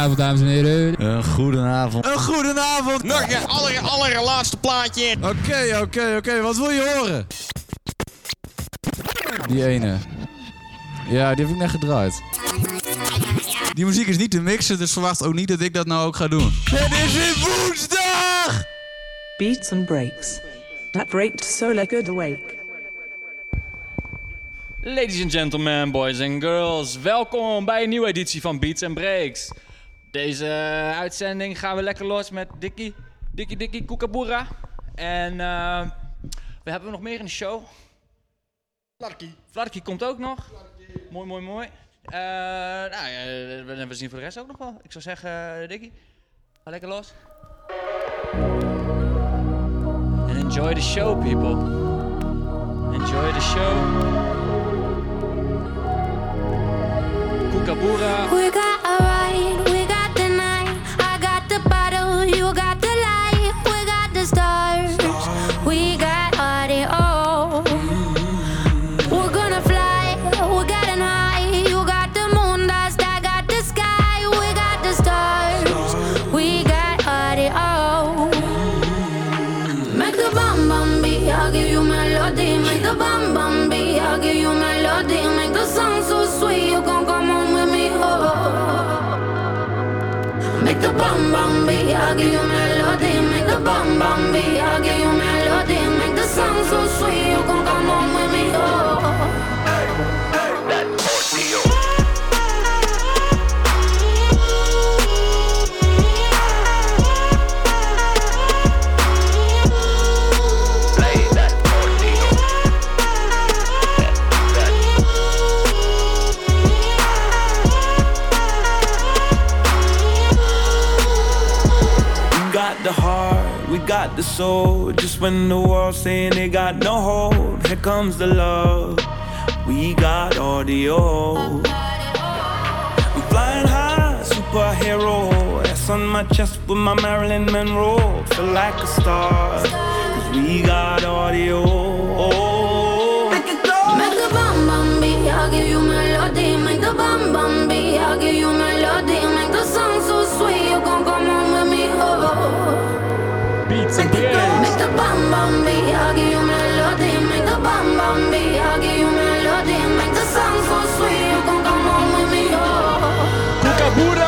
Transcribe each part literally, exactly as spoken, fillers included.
Goedenavond, dames en heren. Een goedenavond. Een goedenavond. Nog een aller, allerlaatste plaatje. Oké, okay, oké, okay, oké. Okay. Wat wil je horen? Die ene. Ja, die heb ik net gedraaid. Die muziek is niet te mixen, dus verwacht ook niet dat ik dat nou ook ga doen. Het is weer woensdag! Beats and breaks. That breaks so like good awake. Ladies and gentlemen, boys and girls. Welkom bij een nieuwe editie van Beats and Breaks. Deze uh, uitzending gaan we lekker los met Dikkie. Dikkie Dikkie Kookaburra. En uh, we hebben nog meer in de show. Flarky. Flarky komt ook nog. Flarky. Mooi, mooi, mooi. Uh, nou, uh, we zien voor de rest ook nog wel. Ik zou zeggen, uh, Dikkie, ga lekker los. And enjoy the show, people. Enjoy the show. Kookaburra. We got a ride, we got the night. I got the bottle, you got the light. We got the stars, we got audio. We're gonna fly, we're getting high. You got the moon dust, I got the sky. We got the stars, we got audio. Make the bum bum beat, I'll give you melody. Make the bum bum beat, I'll give you melody. Make the song so sweet, you gon' come on with me. Make the bum bum beat, I'll give you melody. Make the bum bum beat, I'll give you melody. Make the song so sweet, you gon' come on with me. Oh. Hey, hey, that ordeal. Play that ordeal. The heart, we got the soul. Just when the world's saying they got no hold, here comes the love. We got audio. I'm flying high, superhero. S on my chest with my Marilyn Monroe. Feel like a star, cause we got audio. Make it go. Make the bum bum beat, I'll give you melody. Make the bum bum beat, I'll give you melody. Make the song so sweet, you gon' come on with me. Oh. Beats and Breaks. Make the bum bum beat, I'll give you melody. Make the bum bum beat, I'll give you melody. Make the song so sweet, you gon' come on with me. Oh. Kookaburra.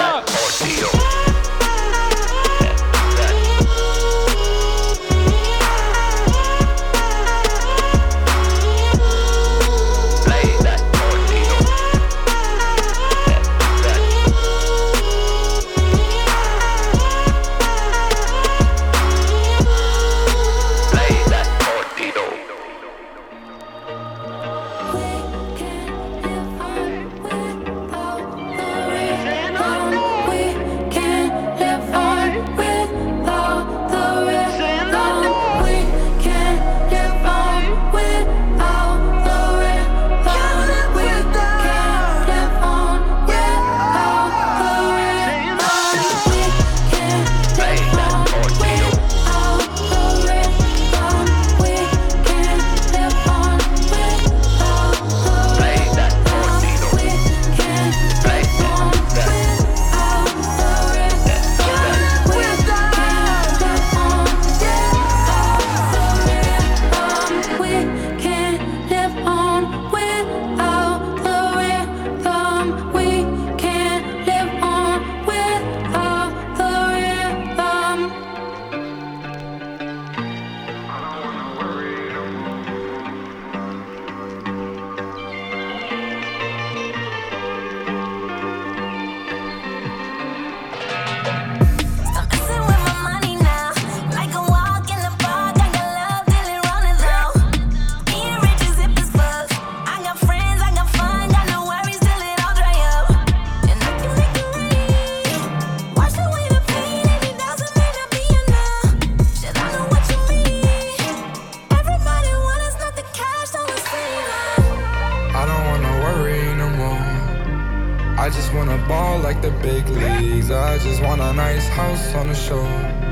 I just want a nice house on the shore.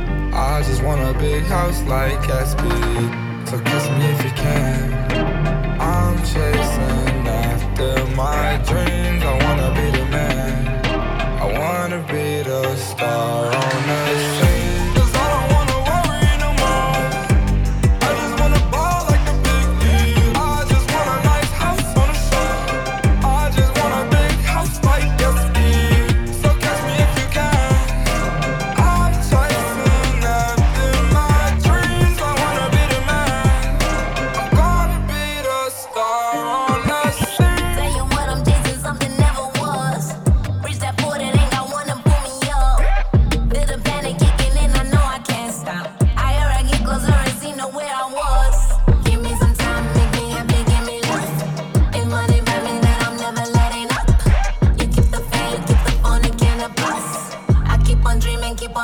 I just want a big house like Gatsby. So kiss me if you can. I'm chasing after my dreams. I wanna be the man. I wanna be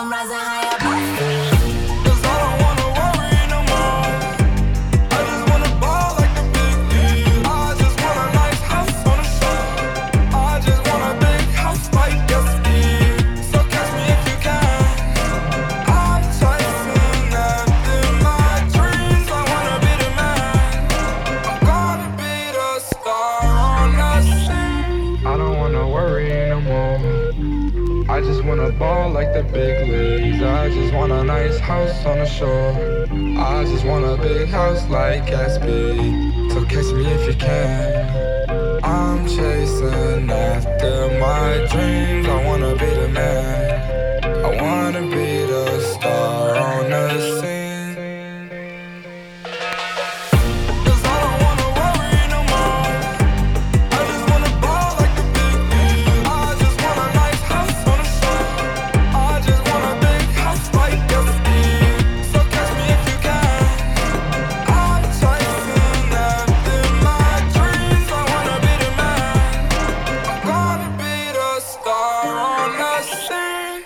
I'm rising higher. Cause I don't wanna worry no more. I just wanna ball like the big league. I just want a nice house on the shore. I just want a big house like yesterday. So catch me if you can. I'm chasing after my dreams. I wanna be the man. I'm gonna be the star on the scene. I don't wanna worry no more. I just wanna ball like the big leagues. I just want a nice house on the shore. I just want a big house like Gatsby. So catch me if you can. I'm chasing after my dreams. I wanna be the man. I wanna be the star on the scene. Cause I don't wanna worry no more. I just wanna ball like the big leagues. I just want a nice house on the shore. I just want a big house like yesterday. So catch me if you can. I'm chasing after my dreams. I wanna be the man. I'm gonna be the star on the scene.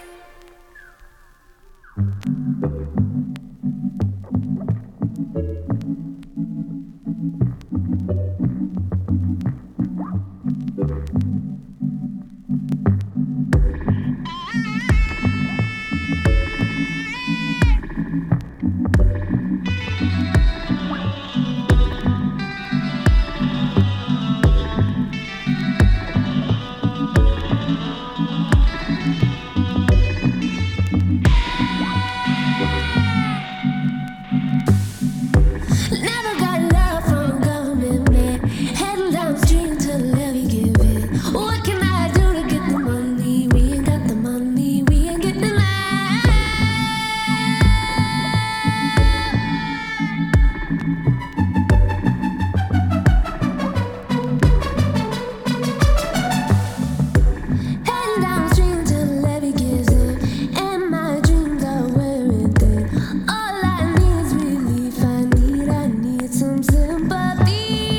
Never got love from a government man. Heading downstream to the levee give it. What can I do to get the money? We ain't got the money, we ain't getting it. Heading downstream till the levee gives in, and my dreams are wearing thin. All I need is relief. I need, I need some sympathy.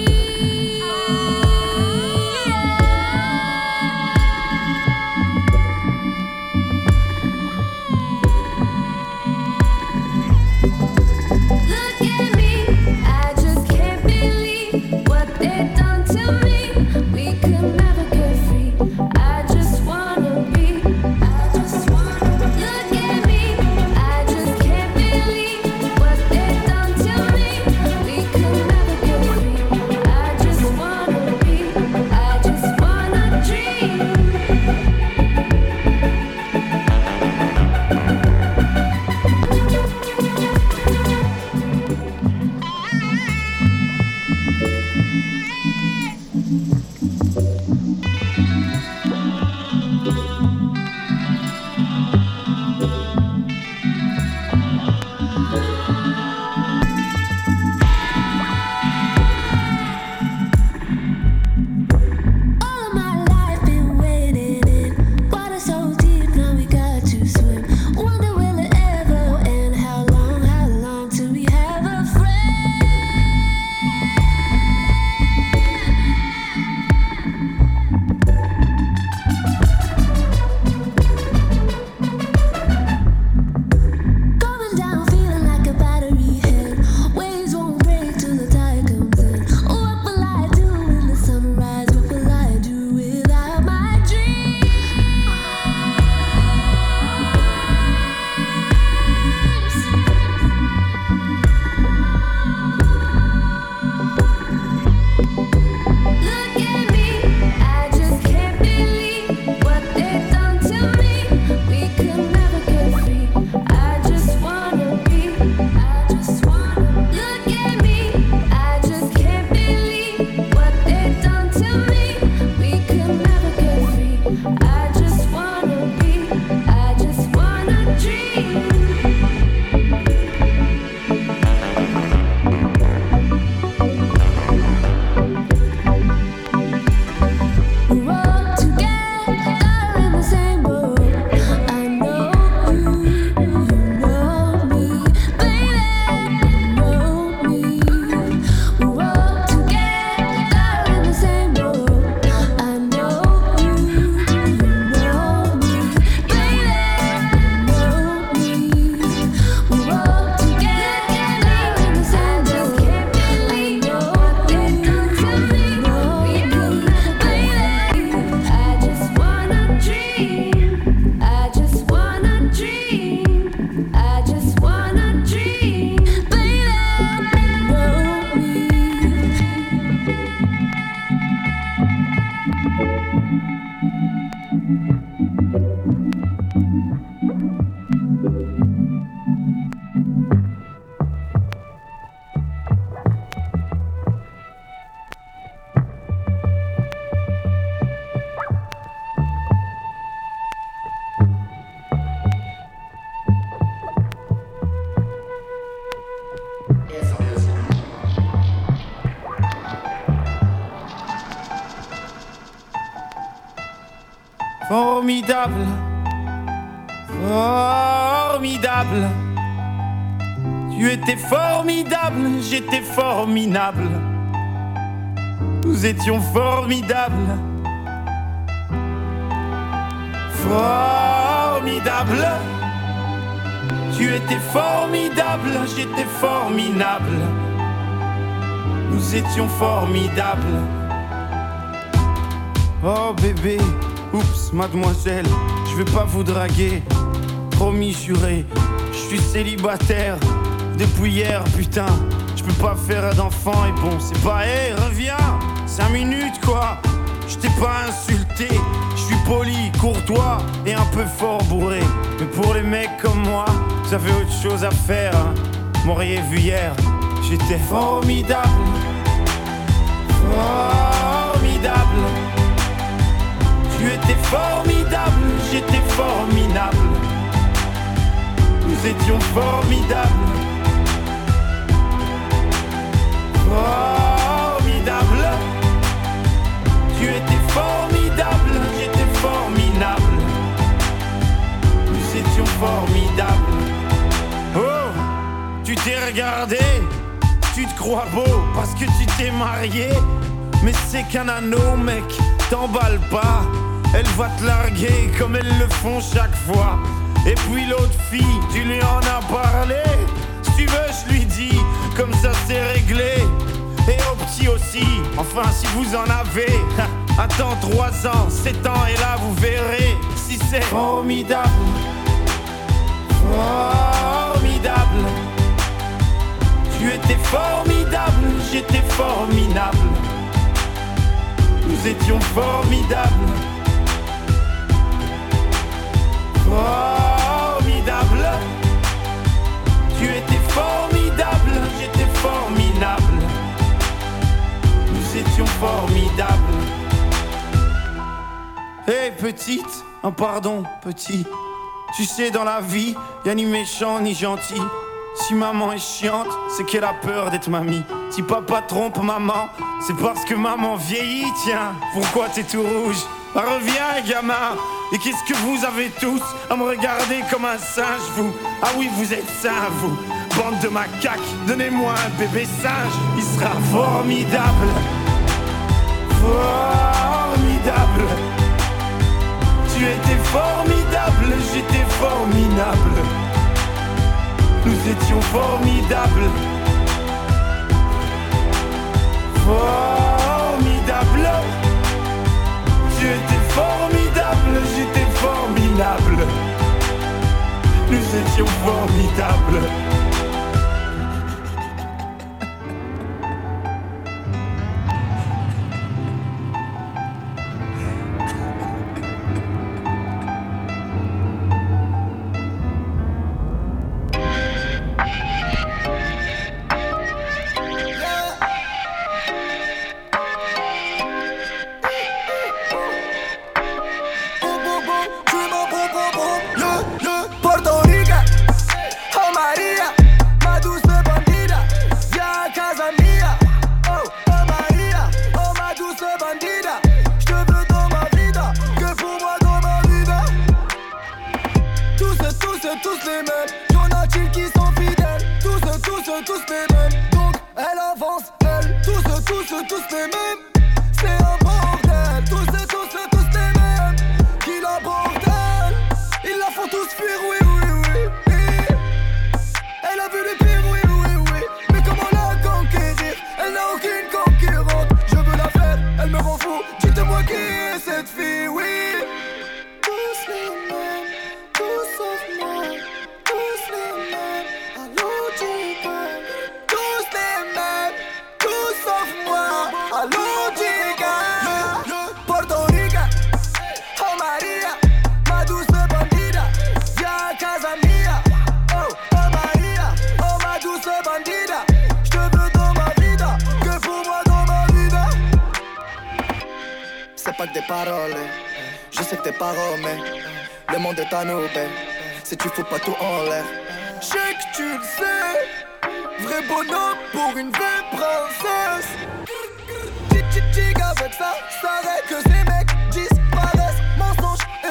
Look at me, I just can't believe what they've done to me. We could never get free. I just wanna be, I just wanna. Look at me, I just can't believe what they've done to me. We could never get free. I just wanna be, I just wanna dream. All of my life been waiting in water so deep, now we got to swim. Wonder will it ever end? How long, how long till we have a friend? Going down, feeling like a battery head. Waves won't break till the tide comes in. What will I do when the sunrise? What will I do without my dreams? Look at me, I just can't believe what they've done to me. We could never get free. I just wanna be, I just wanna. Look at me, I just can't believe what they've done to me. We could never get free. I just wanna be, I just wanna dream. We're all together in the same boat. I know you, you know me, baby, you know me. We're all together in the same boat. I know you, you know me, baby, you know Formidable, formidable. Tu étais formidable, j'étais formidable. Nous étions formidables. Formidable. Tu étais formidable, j'étais formidable. Nous étions formidables. Oh bébé, oups, mademoiselle, je vais pas vous draguer. Promis, juré, je suis célibataire depuis hier, putain. Je peux pas faire d'enfant et bon, c'est pas, hé, hey, reviens, cinq minutes quoi. Je t'ai pas insulté, je suis poli, courtois et un peu fort bourré. Mais pour les mecs comme moi, vous avez autre chose à faire, hein. M'auriez vu hier, j'étais formidable. Formidable. Tu étais formidable, j'étais formidable. Nous étions formidables. Formidable. Tu étais formidable, j'étais formidable. Nous étions formidables. Oh, tu t'es regardé, tu te crois beau parce que tu t'es marié. Mais c'est qu'un anneau, mec, t'emballe pas. Elle va te larguer comme elles le font chaque fois. Et puis l'autre fille, tu lui en as parlé. Si tu veux, je lui dis, comme ça c'est réglé. Et au petit aussi, enfin si vous en avez. Attends trois ans, sept ans et là vous verrez si c'est formidable. Formidable. Tu étais formidable, j'étais formidable. Nous étions formidables. Formidable. Tu étais formidable, j'étais formidable. Nous étions formidables. Hé hey, petite, un pardon petit. Tu sais dans la vie, y'a ni méchant ni gentil. Si maman est chiante, c'est qu'elle a peur d'être mamie. Si papa trompe maman, c'est parce que maman vieillit, tiens. Pourquoi t'es tout rouge? Bah, reviens gamin. Et qu'est-ce que vous avez tous à me regarder comme un singe, vous? Ah oui, vous êtes sains, vous. Bande de macaques, donnez-moi un bébé singe. Il sera formidable. Formidable. Tu étais formidable, j'étais formidable. Nous étions formidables. Formidable. Tu étais formidable, j'étais formidable. Nous étions formidables. Si tu fous pas tout en l'air, je sais que tu le sais. Vrai bonhomme pour une vraie princesse. Tic tic tic avec ça, ça règle que ces mecs disparaissent. Mensonge,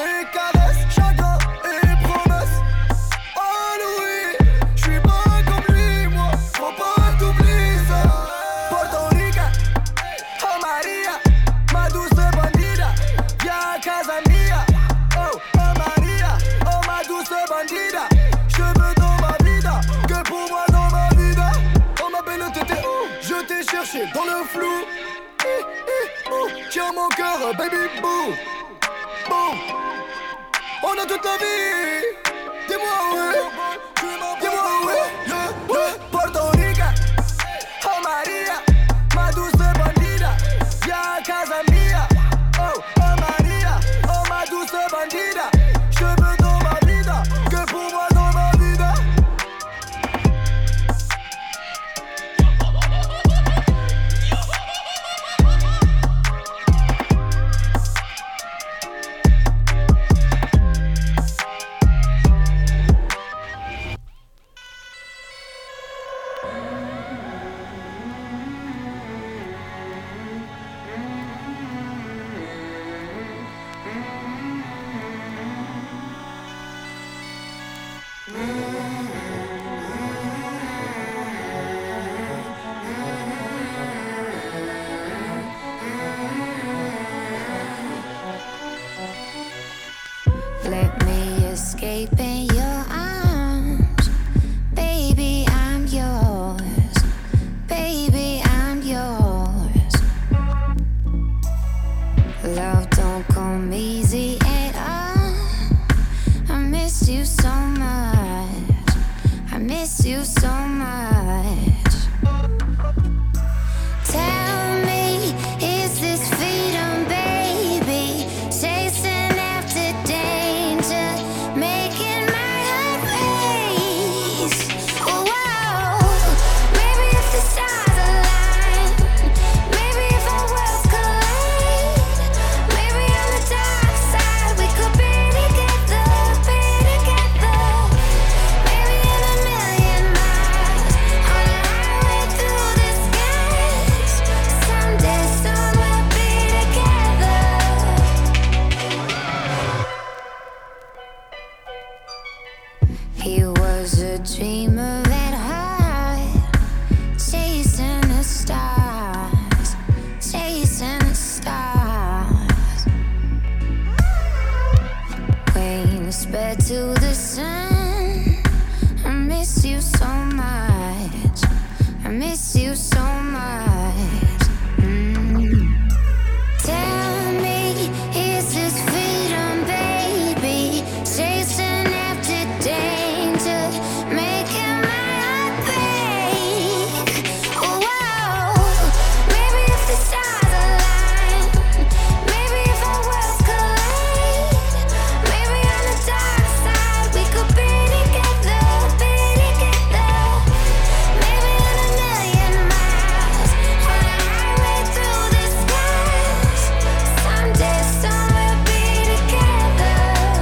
dans le flou. Eh, eh, oh, tiens mon cœur, baby boo. Bon, on a toute la vie. Dis-moi ouais, dis-moi ouais, yeah, yeah. Puerto Rica, oh Maria, ma douce bandida, viens à casa mia. Oh, oh Maria, oh ma douce bandida, je veux dans ma vida, que pour moi dans ma vida. Let me escape in your arms. Baby, I'm yours. Baby, I'm yours. Love don't come easy at all. I miss you so much. I miss you so much. Tell me, is this freedom, baby? Chasing after danger, making my heart race. Oh, whoa. Maybe if the stars align, maybe if our worlds collide, maybe on the dark side we could be together, be together. Maybe in a million miles on a highway through the skies. Someday soon we'll be together. He was a dreamer at heart, chasing the stars, chasing the stars. Wings spread to the sun. I miss you so much. I miss you so much. Mm. Tell me, is this freedom, baby? Chasing after danger, making my heart break. Oh, whoa. Maybe if the stars align, maybe if our worlds collide, maybe on the dark side we could be together, be together. Maybe in a million miles on a highway through the skies. Someday soon we'll be together.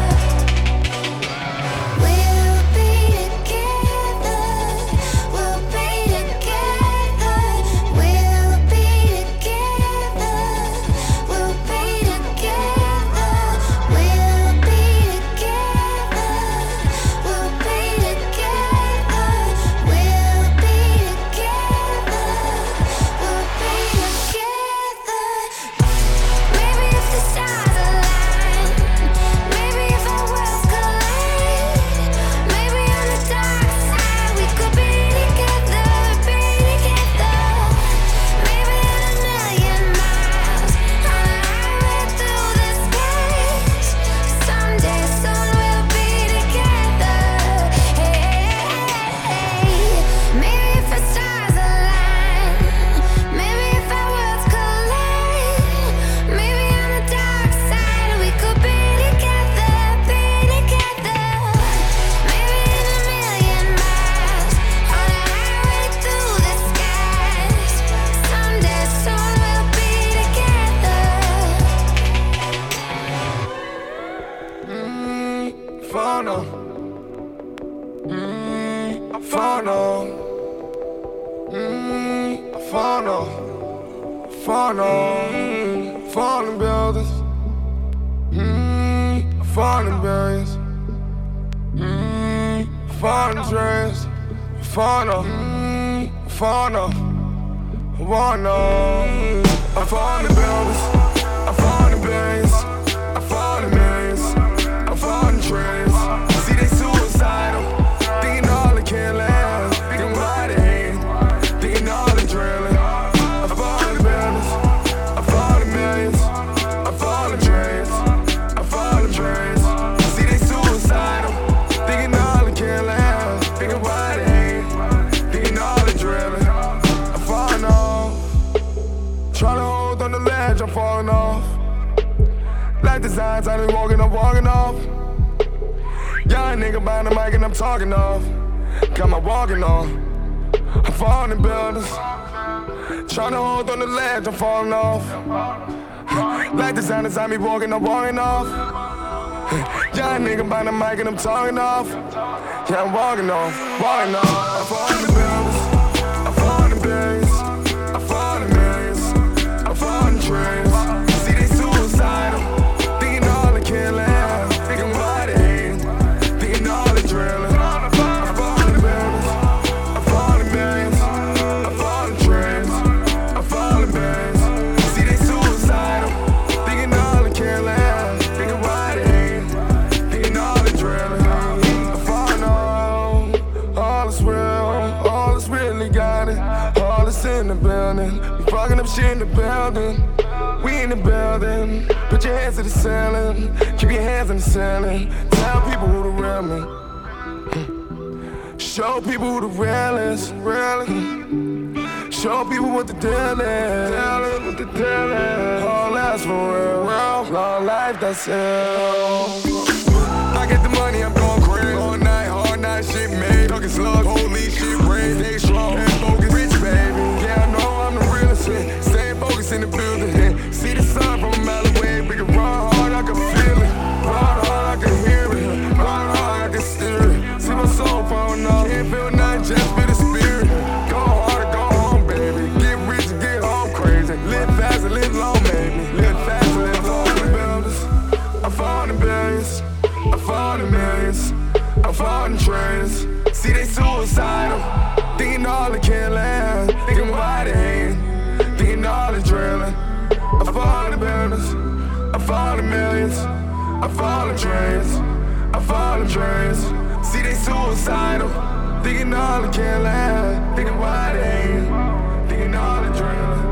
We'll be together. We'll be together. We'll be together. We'll be together. We'll be together. We'll be together. We'll be together. We'll be together. Maybe if the stars align, maybe if our worlds collide, maybe on the dark side we could be together, be together. Maybe in a million miles on a highway through the skies. Someday soon we'll be together. Hey, maybe if the stars align, maybe if our worlds collide, maybe on the dark side we could be together, be together. Maybe in a million miles on a highway through the skies. Someday soon we'll be together. Fono, mm, fono, mm, fono, fono, mm, falling buildings, mm, falling billions, mm, falling dreams, fono, mm, fono, wanna, I'm falling buildings, I'm falling billions, I'm falling millions, I'm falling dreams. See they suicidal, thinking all they can last, thinking why they hate, thinking all they drilling. I'm Like the signs, I just walking, I'm walking off. Young nigga behind the mic and I'm talking off. Got my walking on. I'm falling in buildings. Trying to hold on the ledge, I'm falling off. Like the sign inside me walking, I'm walking off. Young nigga behind the mic and I'm talking off. Yeah, I'm walking off, walking off. I'm falling in buildings. I'm falling in billions. I'm falling in millions. I'm falling in trillions. See, they suicidal. Thinking all the killing. Thinking why they hate. Thinking all the drilling. I'm falling in buildings. I'm falling in millions. I'm falling in trillions. I'm falling in billions. See, they suicidal. Thinking all the killing. Thinking why they hate. Thinking all the drilling. I'm falling on. All is real. All is really got it. All is in the building. We fucking up shit in the building. We in the building. Put your hands to the ceiling. Keep your hands in the ceiling. Tell people who the real me. Show people who the real is. Real is. Show people what the deal is. Tell them what the deal is. All that's for real. real. Long life, that's it. I get the money, I'm going crazy. All night, all night, shit made. Talking slugs, holy shit, brain. Stay strong and focus. Rich, baby. Yeah, I know I'm the realest shit. Stay focused in the building. Yeah. See the sun from a mile away. We can run hard, I can feel it. Run hard, I can hear it. Run hard, I can steer it. See my soul falling off. Can't feel nothing, just feel the spirit. Go hard or go home, baby. Get rich and get home crazy. Live fast and live long, baby. Live fast and live long. Buildings. I'm falling in billions. I'm falling in millions. I'm falling in trillions. See, they suicidal. Thinking all the killing. Thinking why they hate. Thinking all the drilling. I'm falling in buildings. I'm falling in millions. I'm falling in trillions. I'm falling in trillions. See, they suicidal. Thinking all the killing. Thinking why they hate. Thinking all the drilling.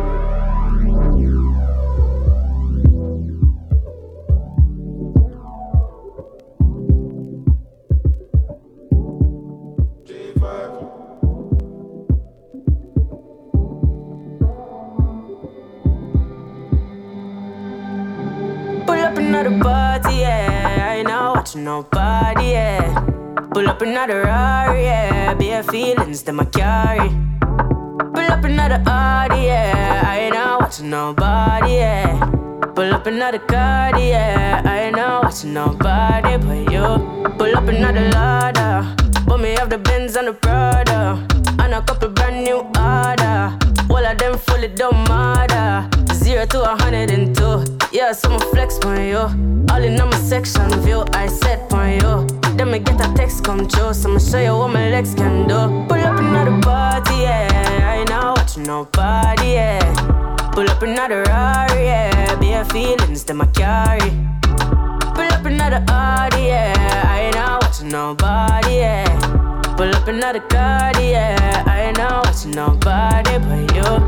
Pull up another party, yeah. I ain't not watching nobody, yeah. Pull up another Rari, yeah. Bare feelings that I carry. Pull up another Audi, yeah. I ain't not watching nobody, yeah. Pull up another Cardi, yeah. I ain't not watching nobody but you. Pull up another Lada. But me have the Benz and the Prada. And a couple brand new order. All of them fully don't matter. Zero to a hundred and two. Yeah, so I'ma flex on you. All in on my section view, I set on you. Then me get a text come true, so I'ma show you what my legs can do. Pull up another party, yeah. I ain't not watching nobody, yeah. Pull up another Rari, yeah. Bare feelings that I carry. Pull up another Audi, yeah. I ain't not watching nobody, yeah. Pull up another Cardi, yeah. I ain't not watching nobody but you.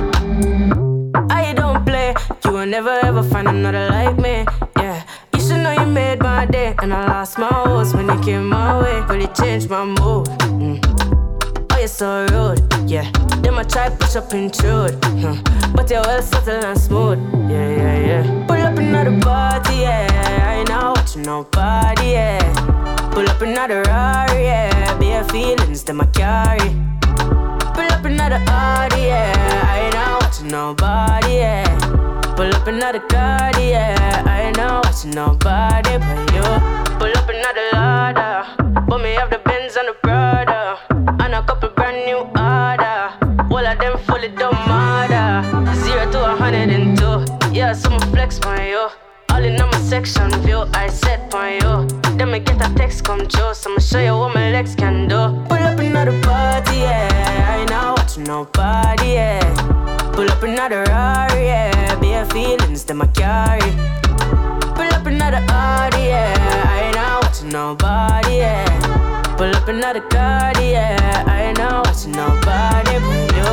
I don't play, you will never ever find another like me, yeah. You should know you made my day, and I lost my horse when you came my way. Really changed my mood, mm. Oh, you're so rude, yeah. Then I try push up intrude, huh. But you're well subtle and smooth, yeah, yeah, yeah. Pull up another party, yeah. I ain't not watching nobody, yeah. Pull up another Rari, yeah. Bare feelings that I carry. Pull up another Audi, yeah. I ain't not watching nobody, yeah. Pull up another Cardi, yeah. I ain't not watching nobody but you. Pull up another Lada. But me have the Benz and the Prada. And a couple brand new order. All of them fully don't matter. Zero to a hundred and two. Yeah, so I'ma flex on you. All in on my section view, I set on you. Then me get a text come true, so I'ma show you what my legs can do. Pull up another party, yeah. I ain't not watching nobody, yeah. Pull up another Rari, yeah. Bare feelings that I carry. Pull up another Audi, yeah. I ain't not watching nobody, yeah. Pull up another Cardi, yeah. I ain't not watching nobody but you.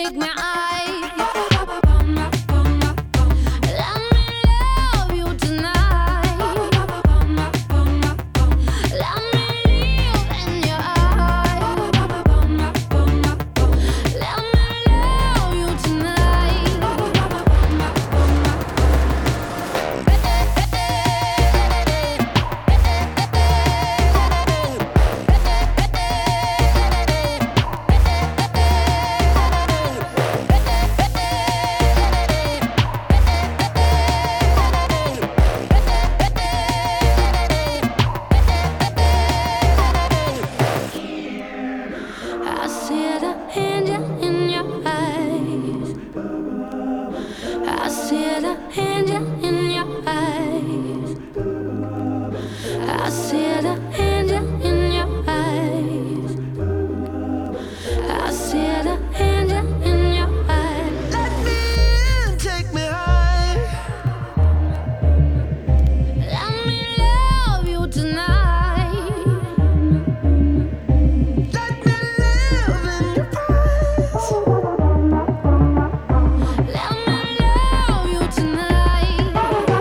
take me high. Let me love you tonight. Let me live in your eyes. Let me love you tonight. I see the angel in your eyes. I see the angel in your eyes. I see the angel in your eyes. I see the angel in your eyes. Let me in, take me high. Let me love you tonight. Let me live in your eyes. Let me love you tonight.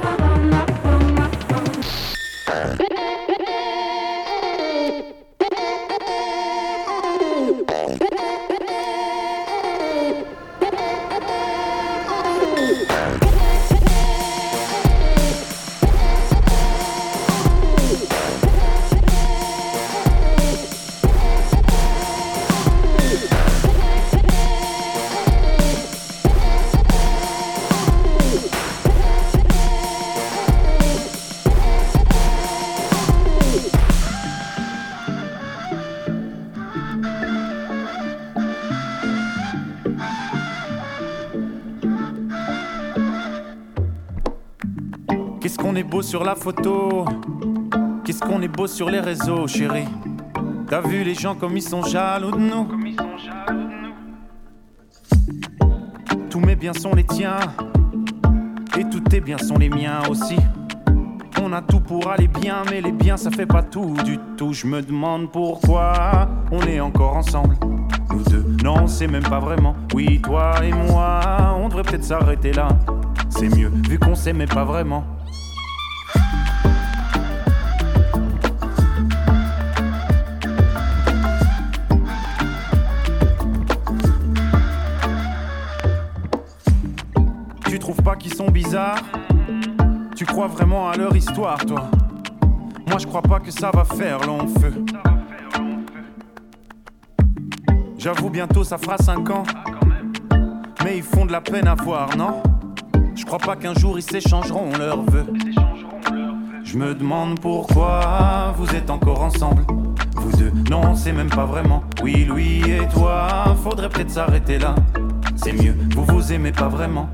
Qu'est-ce qu'on est beau sur la photo. Qu'est-ce qu'on est beau sur les réseaux, chérie. T'as vu les gens comme ils sont jaloux de nous. Tous mes biens sont les tiens. Et tous tes biens sont les miens aussi. On a tout pour aller bien, mais les biens ça fait pas tout du tout. Je me demande pourquoi on est encore ensemble. Nous deux, non c'est même pas vraiment. Oui toi et moi, on devrait peut-être s'arrêter là. C'est mieux vu qu'on s'aimait pas vraiment. Tu trouves pas qu'ils sont bizarres? Tu crois vraiment à leur histoire, toi? Moi je crois pas que ça va faire long feu. J'avoue bientôt ça fera cinq ans. Mais ils font de la peine à voir, non? Je crois pas qu'un jour ils s'échangeront leurs vœux. Je me demande pourquoi vous êtes encore ensemble. Vous deux, non c'est même pas vraiment. Oui lui et toi, faudrait peut-être s'arrêter là. C'est mieux, vous vous aimez pas vraiment.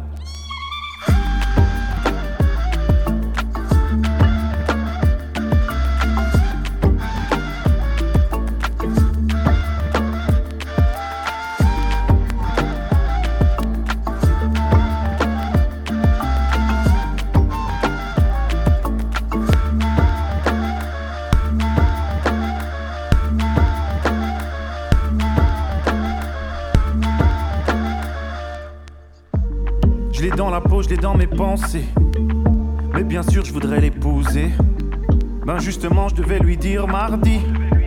Dans la peau, je l'ai dans mes pensées. Mais bien sûr, je voudrais l'épouser. Ben justement, je devais lui dire mardi.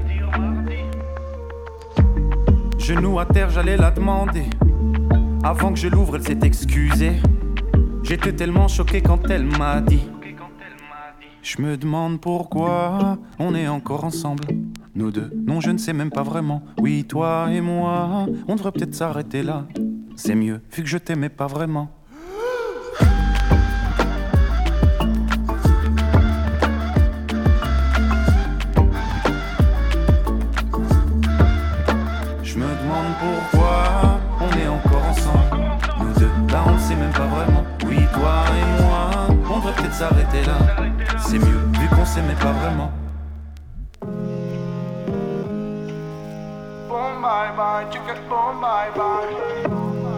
Genou à terre, j'allais la demander. Avant que je l'ouvre, elle s'est excusée. J'étais tellement choqué quand elle m'a dit. Je me demande pourquoi on est encore ensemble. Nous deux, non, je ne sais même pas vraiment. Oui, toi et moi, on devrait peut-être s'arrêter là. C'est mieux, vu que je t'aimais pas vraiment. Pourquoi on est encore ensemble? Nous deux, là on ne sait même pas vraiment. Oui, toi et moi, on devrait peut-être s'arrêter là. C'est mieux, vu qu'on s'aimait pas vraiment. Boom bye bye, tu get boom bye bye.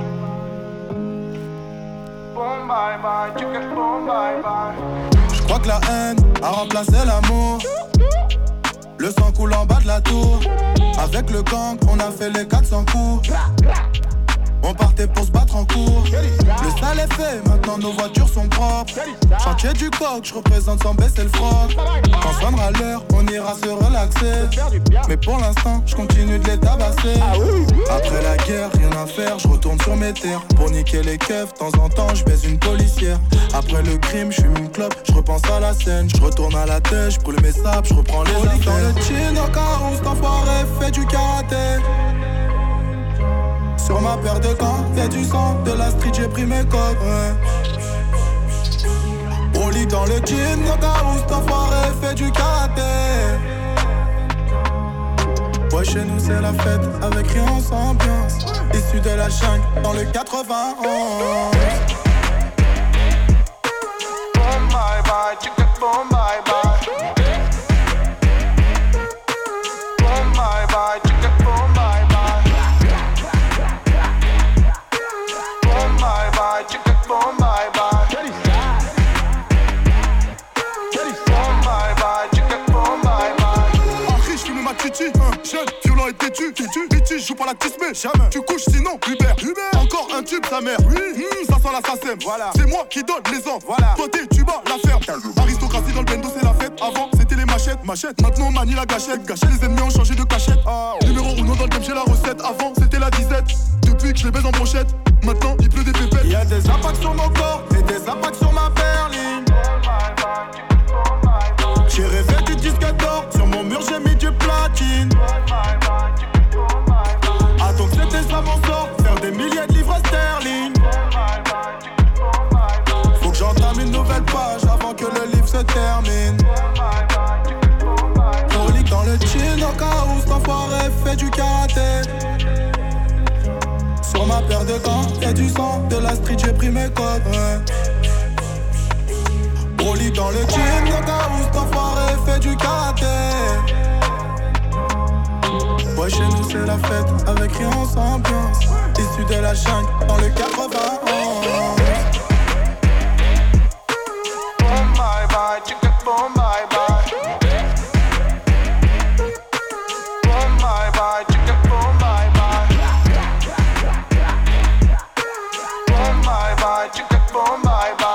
Boom bye bye, tu get boom bye bye. Je crois que la haine a remplacé l'amour. Le sang coule en bas de la tour. Avec le gang, on a fait les quatre cents coups. On On partait pour se battre en cours. Le sale est fait, maintenant nos voitures sont propres. Chantier du coq, je représente sans baisser le froc. Quand sonnera l'heure, on ira se relaxer. Mais pour l'instant, je continue de les tabasser. Après la guerre, rien à faire, je retourne sur mes terres. Pour niquer les keufs, de temps en temps, je baise une policière. Après le crime, je fume une clope, je repense à la scène. Je retourne à la tête, je brûle mes sables, je reprends les affaires. Dans le chin, au carreau, cet enfoiré fait du karaté. Sur ma paire de gants, y'a du sang, de la street, j'ai pris mes codes, ouais. Broly dans le jean, au carreau, cet enfoiré fait du karaté. Ouais, chez nous c'est la fête, avec rien sans ambiance. Issu de la jungle, dans le quatre-vingt-onze. Boom, bye bye, chicken, boom, bye bye. Boom, bye bye, chicken, boom, bye bye. Boom, bye bye, chicken, boom, bye bye. Boom, bye bye, chicken, boom, bye bye. En riche, fume ma titi, hein, jeune, violent et têtu, têtu. Bitch, joue pas la tismée, jamais. Tu couches sinon, Hubert, Hubert. Encore un tube, sa mère, oui. Mmh, ça sent l'assassin, voilà. C'est moi qui donne les ordres, voilà. Toi t'es, tu bats la ferme. Aristocratie dans le bendo, c'est la fête. Avant, c'était les machettes, machettes. Maintenant, on manie la gâchette. Gâcher les ennemis ont changé de cachette. Oh. Numéro uno dans le game, j'ai la recette. Avant, c'était la disette. Depuis que je les baise en brochette, maintenant, il pleut des pépettes. Y'a des impacts sur mon corps et des impacts sur ma berline. J'ai rêvé du disque d'or, sur mon mur j'ai mis du platine. Attends que c'était ça mon sort, faire des milliers de livres sterling. Faut que j'entame une nouvelle page avant que le livre se termine. Broly dans le chin, au cas où cet enfoiré fait du karaté. Sur ma paire de gants, y'a du sang, de la street j'ai pris mes codes, ouais. Broly dans le gym, le cas où cet enfoiré fait du karaté. Ouais, chez nous c'est la fête, avec rien sans ambiance. Issu de la jungle, dans le quatre-vingt-onze. Boom, bye bye, chicken, boom, bye bye. Boom, bye bye, chicken, boom, bye bye. Boom, bye bye, chicken, boom, bye bye.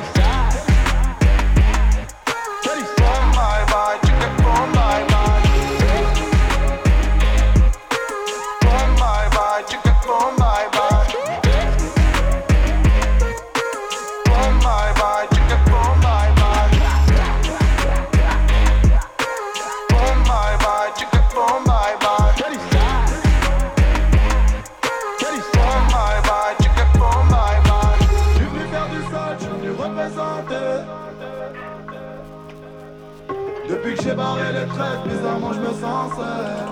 Depuis que j'ai barré les traites, bizarrement je me sens seul.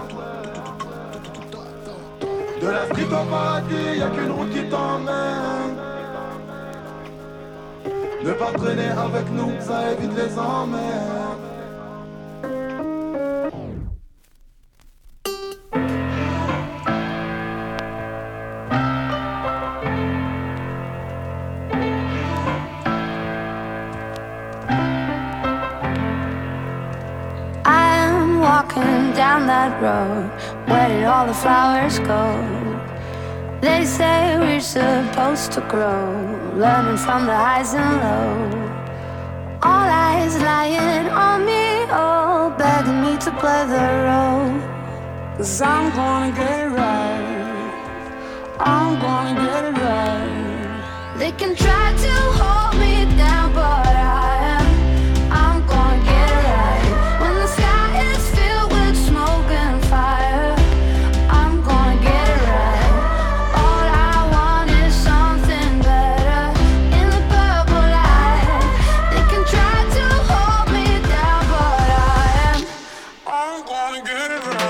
De la street au paradis, y'a qu'une route qui t'emmène. Ne pas traîner avec nous, ça évite les emmerdes. Walking down that road, where did all the flowers go? They say we're supposed to grow, learning from the highs and lows. All eyes lying on me, all begging me to play the role. Cause I'm gonna get it right, I'm gonna get it right. They can try to hold me down, but I am, I'm gonna get it right. When the sky is filled with smoke and fire, I'm gonna get it right. All I want is something better in the purple light. They can try to hold me down, but I am, I'm gonna get it right.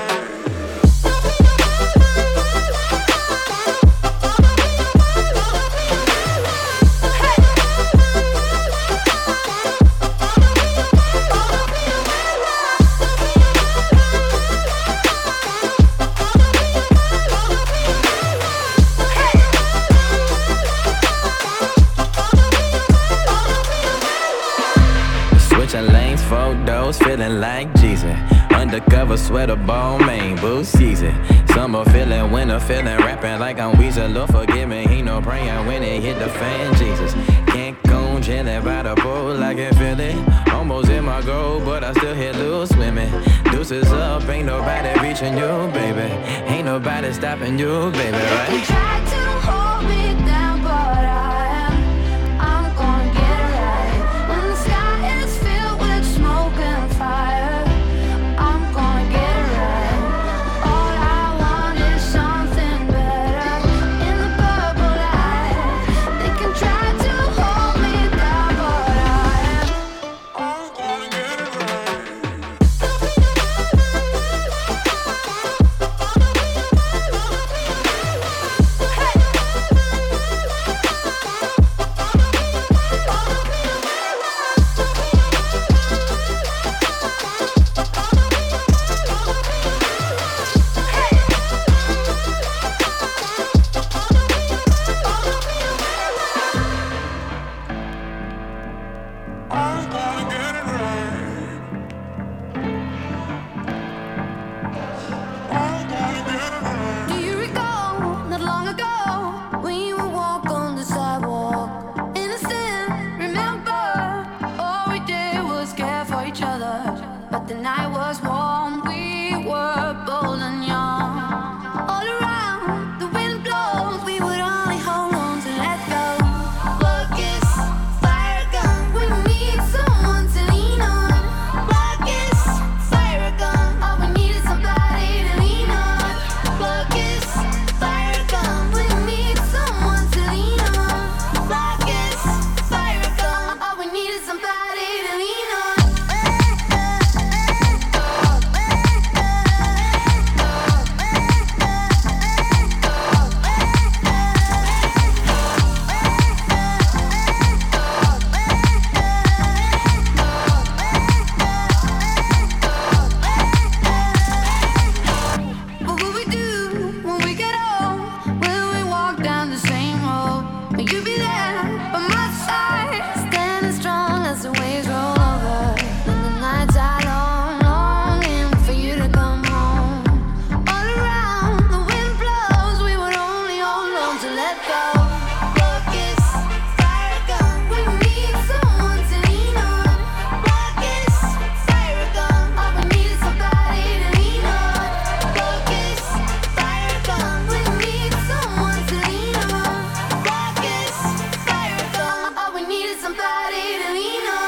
Switching lanes, photos, feeling like Jesus. undercover sweater, ball main, boost easy. Summer feeling, winter feeling, rapping like I'm Weezer. Lord forgive me, he no praying when it hit the fan, Jesus. Can't go chilling by the pool, I can feel it. Almost in my goal, but I still hit loose swimming. Deuces up, ain't nobody reaching you, baby. Ain't nobody stopping you, baby, right? You tried to hold me down, but I am, I'm gonna get it right. When the sky is filled with smoke and fire, I'm gonna get it right. All I want is something better in the purple light. They can try to hold me down, but I am, I'm gonna get it right. Do you recall not long ago when you would walk on the sidewalk? Innocent, remember, all we did was care for each other. But the night was warm, we were bold and young. All around, the wind blows, we would only hold on to let go. Focus, fire gun, we need someone to lean on. Focus, fire gun, all we need is somebody to lean on. Focus, fire gun, we need someone to lean on. Focus, fire gun, all we need is somebody to lean on. What will we do when we get old? Will we walk down the same road? Will you be there by my side, standing strong as the waves roll over? When the nights are long, longing for you to come home. All around, the wind blows, we would only hold on to let go. Focus, fire gun, we need someone to lean on. Focus, fire gun, all we need is somebody to lean on. Focus, fire gun, we need someone to lean on. Focus, fire gun, all we need is somebody to lean on.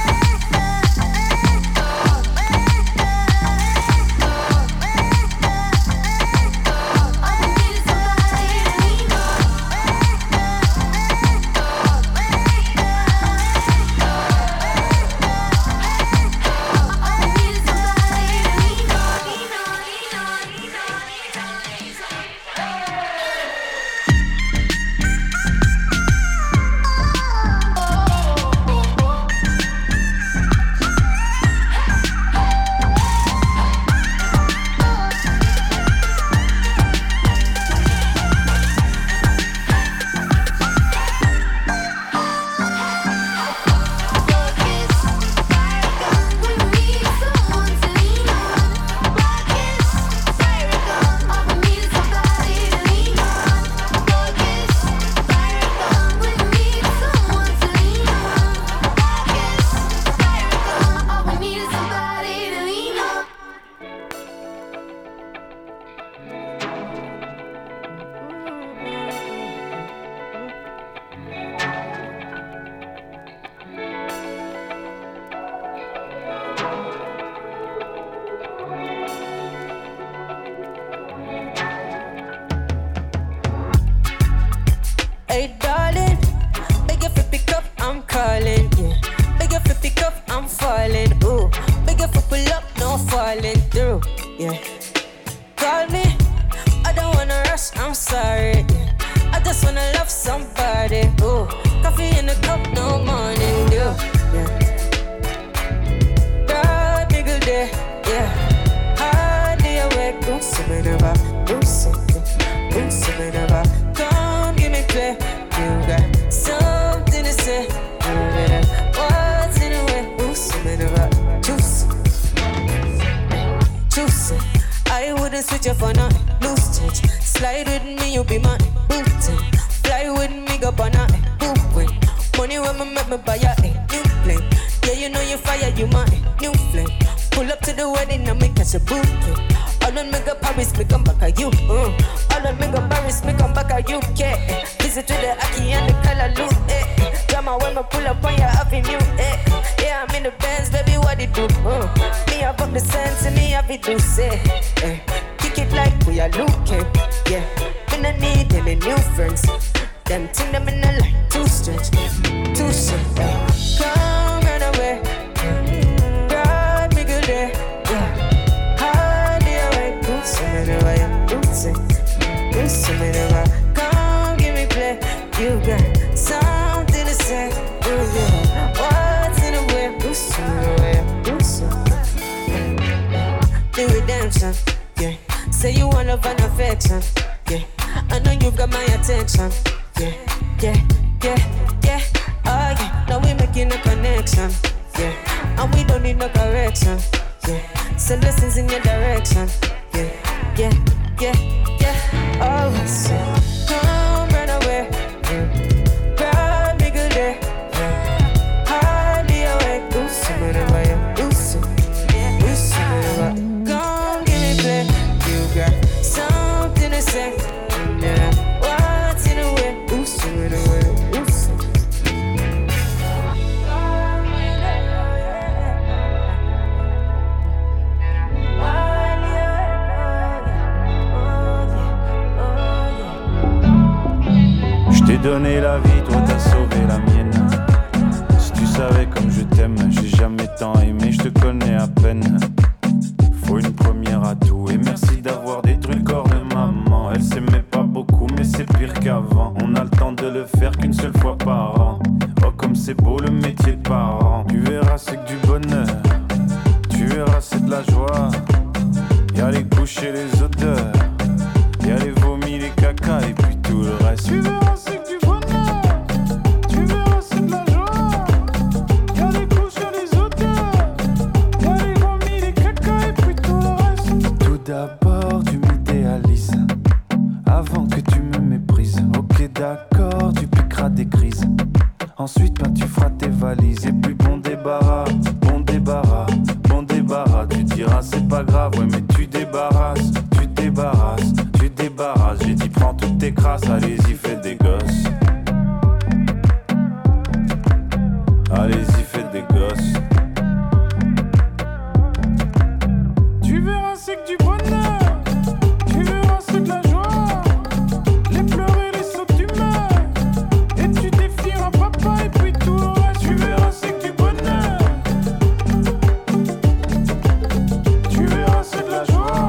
Hey darling, beg if you pick up, I'm calling. Yeah. Beg if you pick up, I'm falling. Ooh, beg if you pull up, no falling through. Yeah. Call me, I don't wanna rush, I'm sorry. Yeah. I just wanna love somebody. Ooh, coffee in the cup, no morning dew. Yeah. God, big day, yeah. Hardly awake, ooh, so many about, ooh, something, ooh, so many about. Come give me play. You got something to say. What's in the way? Ooh, something about juice. with you for nothing. Loose touch. Slide with me, you be my booty. Fly with me, go on a poop. Money when me make me buy a new plane. Yeah, you know you fire, you my new flame. Pull up to the wedding and me catch a bouquet. All on me go Paris, me come back at you. Uh. All on me go Paris, me come back at U K. Visit to the Aki and the Callaloo. Eh. Drama when me pull up on your avenue. Eh. Yeah, I'm in the Benz, baby, what it do? Uh. Me have up the sense and me have it do say. Eh. Kick it like we are looking. Yeah, me no need any new friends. Them thing them in the line, too stretch, too shit. Eh. Come run away. Ride me good day. Yeah. Come give me play. You got something to say. Ooh, yeah. What's in the way? Do some, the redemption. Yeah. Say you want love and affection. Yeah. I know you've got my attention. Yeah, yeah, yeah, yeah. Oh yeah. Now we making a connection. Yeah. And we don't need no correction. Yeah. So lessons in your direction. Yeah, yeah, yeah, yeah. Oh, so come run away. Grab me good day. Hardly awake. Do something about you. Do something. Do something about you. Come give me play. You got something to say. Yeah. What's in the way? Do something about you. Do something. Je t'ai donné la vie, toi t'as sauvé la mienne. Si tu savais comme je t'aime, j'ai jamais tant aimé, je te connais à peine. Faut une première à tout et merci d'avoir détruit le corps de maman. Elle s'aimait pas beaucoup mais c'est pire qu'avant. On a le temps de le faire qu'une seule fois par an. Oh comme c'est beau le métier de parent. Tu verras c'est que du bonheur, tu verras c'est de la joie. Y'a les couches et les odeurs, y'a les vomis, les caca et puis tout le reste. Tu verras c'est que du bonheur, tu verras c'est de la joie. Y'a les couches, y'a les odeurs, y'a les vomis, les caca et puis tout le reste. Tout d'abord tu m'idéalises, avant que tu me méprises. Ok d'accord, tu piqueras des crises. Ensuite ben tu feras tes valises. Et puis bon débarras, bon débarras, bon débarras. Tu diras c'est pas grave, ouais mais tu débarrasses, tu débarrasses, tu débarrasses. J'ai dit prends toutes tes crasses, allez-y fais des gosses. Allez-y fais des gosses. Tu verras c'est que du bonheur, tu verras c'est de la joie. Les pleurs et les sauts d'humeur, et tu défieras papa et puis tout le reste. Tu verras c'est que du bonheur, tu verras c'est de la joie.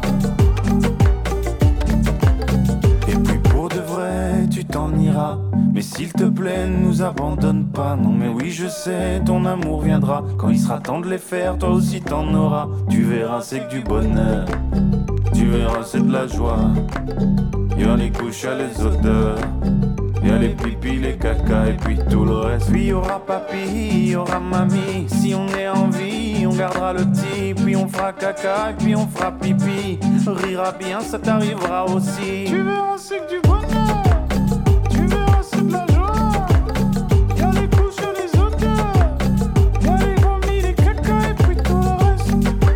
Et puis pour de vrai tu t'en iras. Mais s'il te plaît ne nous abandonne pas. Non mais oui je sais ton amour viendra. Quand il sera temps de les faire toi aussi t'en auras. Tu verras c'est que du bonheur, tu verras c'est de la joie. Y'a les couches, y'a les odeurs, y'a les pipis, les caca et puis tout le reste. Puis y'aura papy, y'aura mamie. Si on est en vie, on gardera le petit. Puis on fera caca et puis on fera pipi. Rira bien, ça t'arrivera aussi. Tu verras c'est que du bonheur, tu verras c'est de la joie. Y'a les couches, y'a les odeurs, y'a les vomis, les caca et puis tout le reste.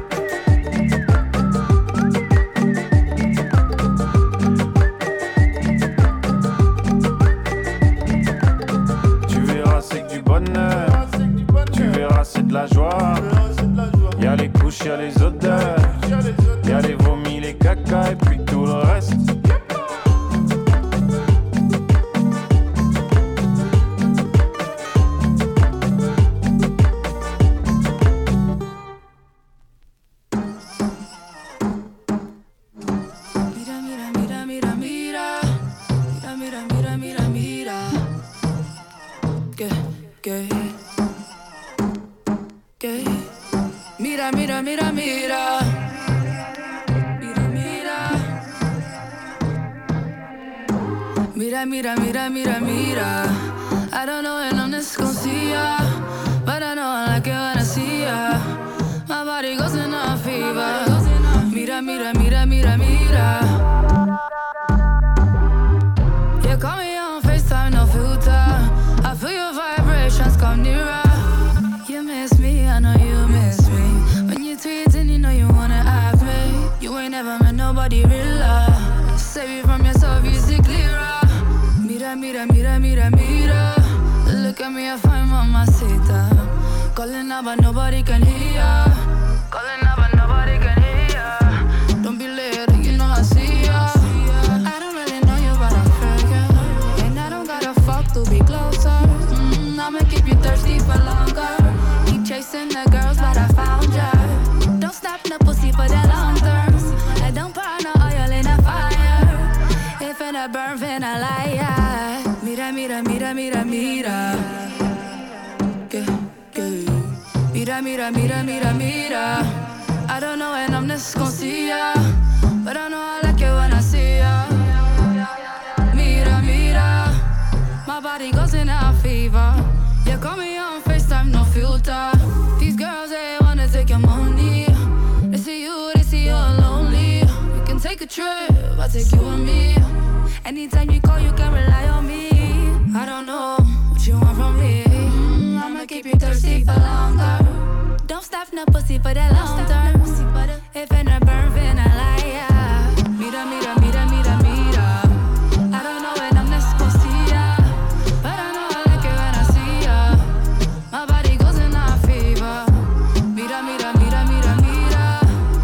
Tu verras c'est que du bonheur, tu verras c'est de la joie. Y'a les couches, y'a les odeurs, y'a les vomis, les caca et puis tout le reste. Mira, mira, mira, mira. Mira, mira. Mira, mira, mira, mira, mira. I don't know when I'm this gon' see ya, but I know I like it when I see ya. My body goes in a fever. Mira, mira, mira, mira. mira, mira. You call me on FaceTime, no filter. I feel your vibrations come nearer. You miss me, I know you miss me. When you tweet and you know you wanna have me. You ain't never met nobody realer. Save you from yourself, you see clearer. Mira, mira, mira, mira, mira. Look at me, I find mamacita. Calling out but nobody can hear. Calling out but nobody can hear. Don't be late, you know I see ya. I don't really know you but I feel you. And I don't gotta fuck to be closer. mm, I'ma keep you thirsty for longer. Keep chasing the girls but I found ya. Don't stop no pussy for the long term. I don't pour no oil in the fire. If in a burn, finna liar. Mira, mira, mira, mira, mira. Que, que. Mira, mira, mira, mira, mira. I don't know when I'm next gon' see ya, but I know I like it when I see ya. Mira, mira. My body goes in a fever. You call me on FaceTime, no filter. These girls, they wanna take your money. They see you, they see you're lonely. We can take a trip, I'll take you and me. Anytime you call, you can rely on me. I don't know what you want from me. mm, I'ma keep you thirsty for longer. Don't stop no pussy for the long term. If in a burn, finna liar. Mira, mira, mira, mira, mira. I don't know when I'm next gon' see ya, but I know I like it when I see ya. My body goes in a fever. Mira, mira, mira, mira, mira.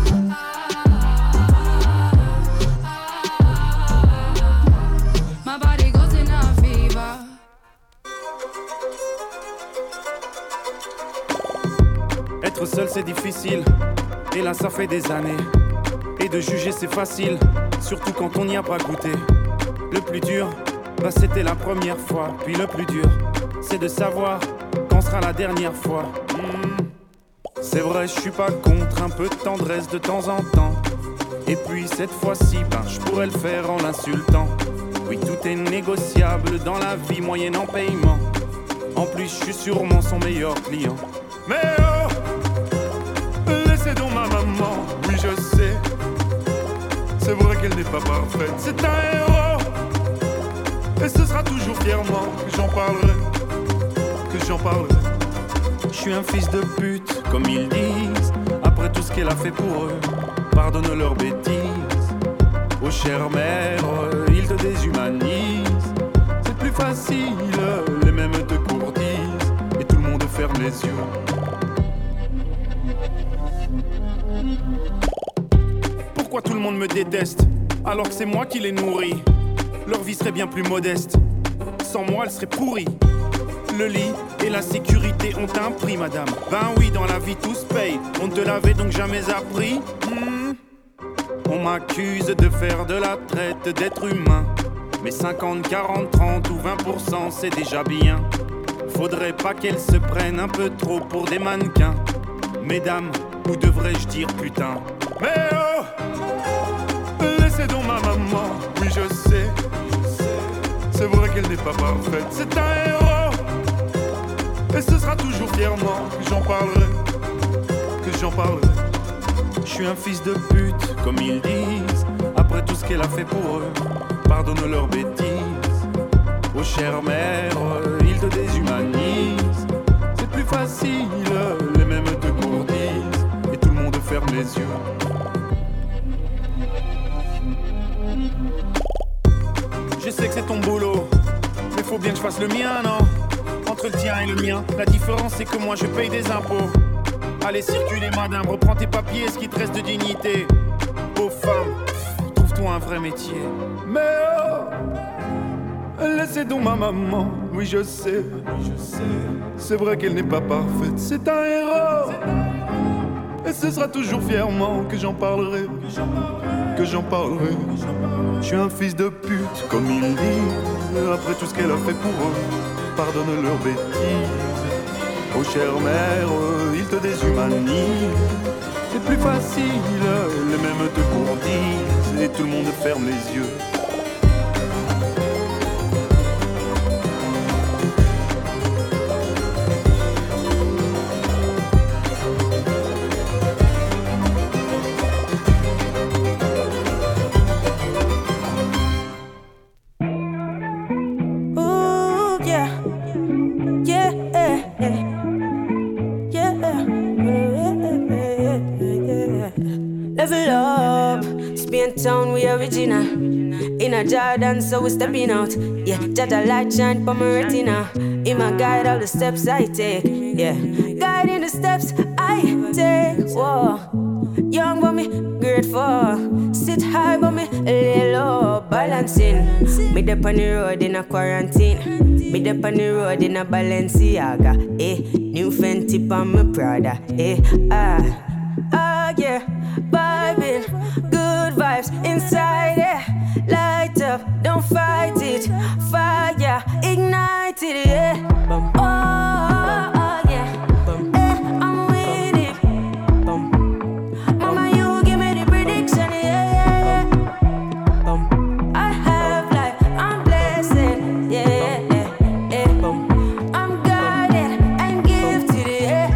My body goes in a fever. Être seul c'est difficile, et là ça fait des années. Et de juger c'est facile, surtout quand on n'y a pas goûté. Le plus dur, bah c'était la première fois. Puis le plus dur, c'est de savoir quand sera la dernière fois. mmh. C'est vrai, je suis pas contre un peu de tendresse de temps en temps. Et puis cette fois-ci, ben je pourrais le faire en l'insultant. Oui, tout est négociable dans la vie moyennant paiement. En plus, je suis sûrement son meilleur client. Mais oh, laissez donc ma maman, oui je sais. C'est vrai qu'elle n'est pas parfaite, c'est un héros. Et ce sera toujours fièrement que j'en parlerai, que j'en parlerai. Je suis un fils de pute, comme ils disent. Après tout ce qu'elle a fait pour eux, pardonne leurs bêtises. Oh chère mère, ils te déshumanisent. C'est plus facile, les mêmes te courtisent. Et tout le monde ferme les yeux. Pourquoi tout le monde me déteste, alors que c'est moi qui les nourris? Leur vie serait bien plus modeste, sans moi elle serait pourrie. Le lit et la sécurité ont un prix, madame. Ben oui, dans la vie tout se paye. On ne te l'avait donc jamais appris. hmm. On m'accuse de faire de la traite d'êtres humains. Mais cinquante, quarante, trente ou vingt pour cent c'est déjà bien. Faudrait pas qu'elles se prennent un peu trop pour des mannequins. Mesdames, ou devrais-je dire putain? Mais oh, laissez donc ma maman, oui je sais. C'est vrai qu'elle n'est pas parfaite, c'est un héros. Et ce sera toujours fièrement que j'en parlerai, que j'en parlerai. Je suis un fils de pute, comme ils disent. Après tout ce qu'elle a fait pour eux, pardonne leurs bêtises. Oh chère mère, ils te déshumanisent. C'est plus facile, les mêmes te courtisent. Et tout le monde ferme les yeux. Je sais que c'est ton boulot, mais faut bien que je fasse le mien, non? Entre le tien et le mien, la différence c'est que moi je paye des impôts. Allez circuler madame, reprends tes papiers, ce qui te reste de dignité. Pauvre femme, trouve-toi un vrai métier. Mais oh, laissez donc ma maman, oui je sais, je sais. C'est vrai qu'elle n'est pas parfaite, c'est un héros. Et ce sera toujours fièrement que j'en parlerai, que j'en parlerai. Je suis un fils de pute, comme ils disent. Après tout ce qu'elle a fait pour eux, pardonne leurs bêtises. Oh chère mère, ils te déshumanisent. C'est plus facile, les mêmes te courtisent. Et tout le monde ferme les yeux. level up. Spain town, we original. In a Jordan, so we stepping out. Yeah, Jaja light shine for my retina. In my guide, all the steps I take. Yeah, guiding the steps I take. Whoa, young but me grateful. Sit high but me lay low. Balancing. Me dep on the road in a quarantine. Me dep on the road in a Balenciaga. Eh, new Fenty on my Prada. Eh, ah, ah yeah, vibing, good vibes inside. Yeah, light up, don't fight it. Fire, ignite it. Yeah, oh, oh yeah, eh, I'm with it. Mama, you give me the prediction. Yeah, yeah, yeah. I have life, I'm blessed. Yeah, yeah, yeah. I'm guided and gifted. Yeah.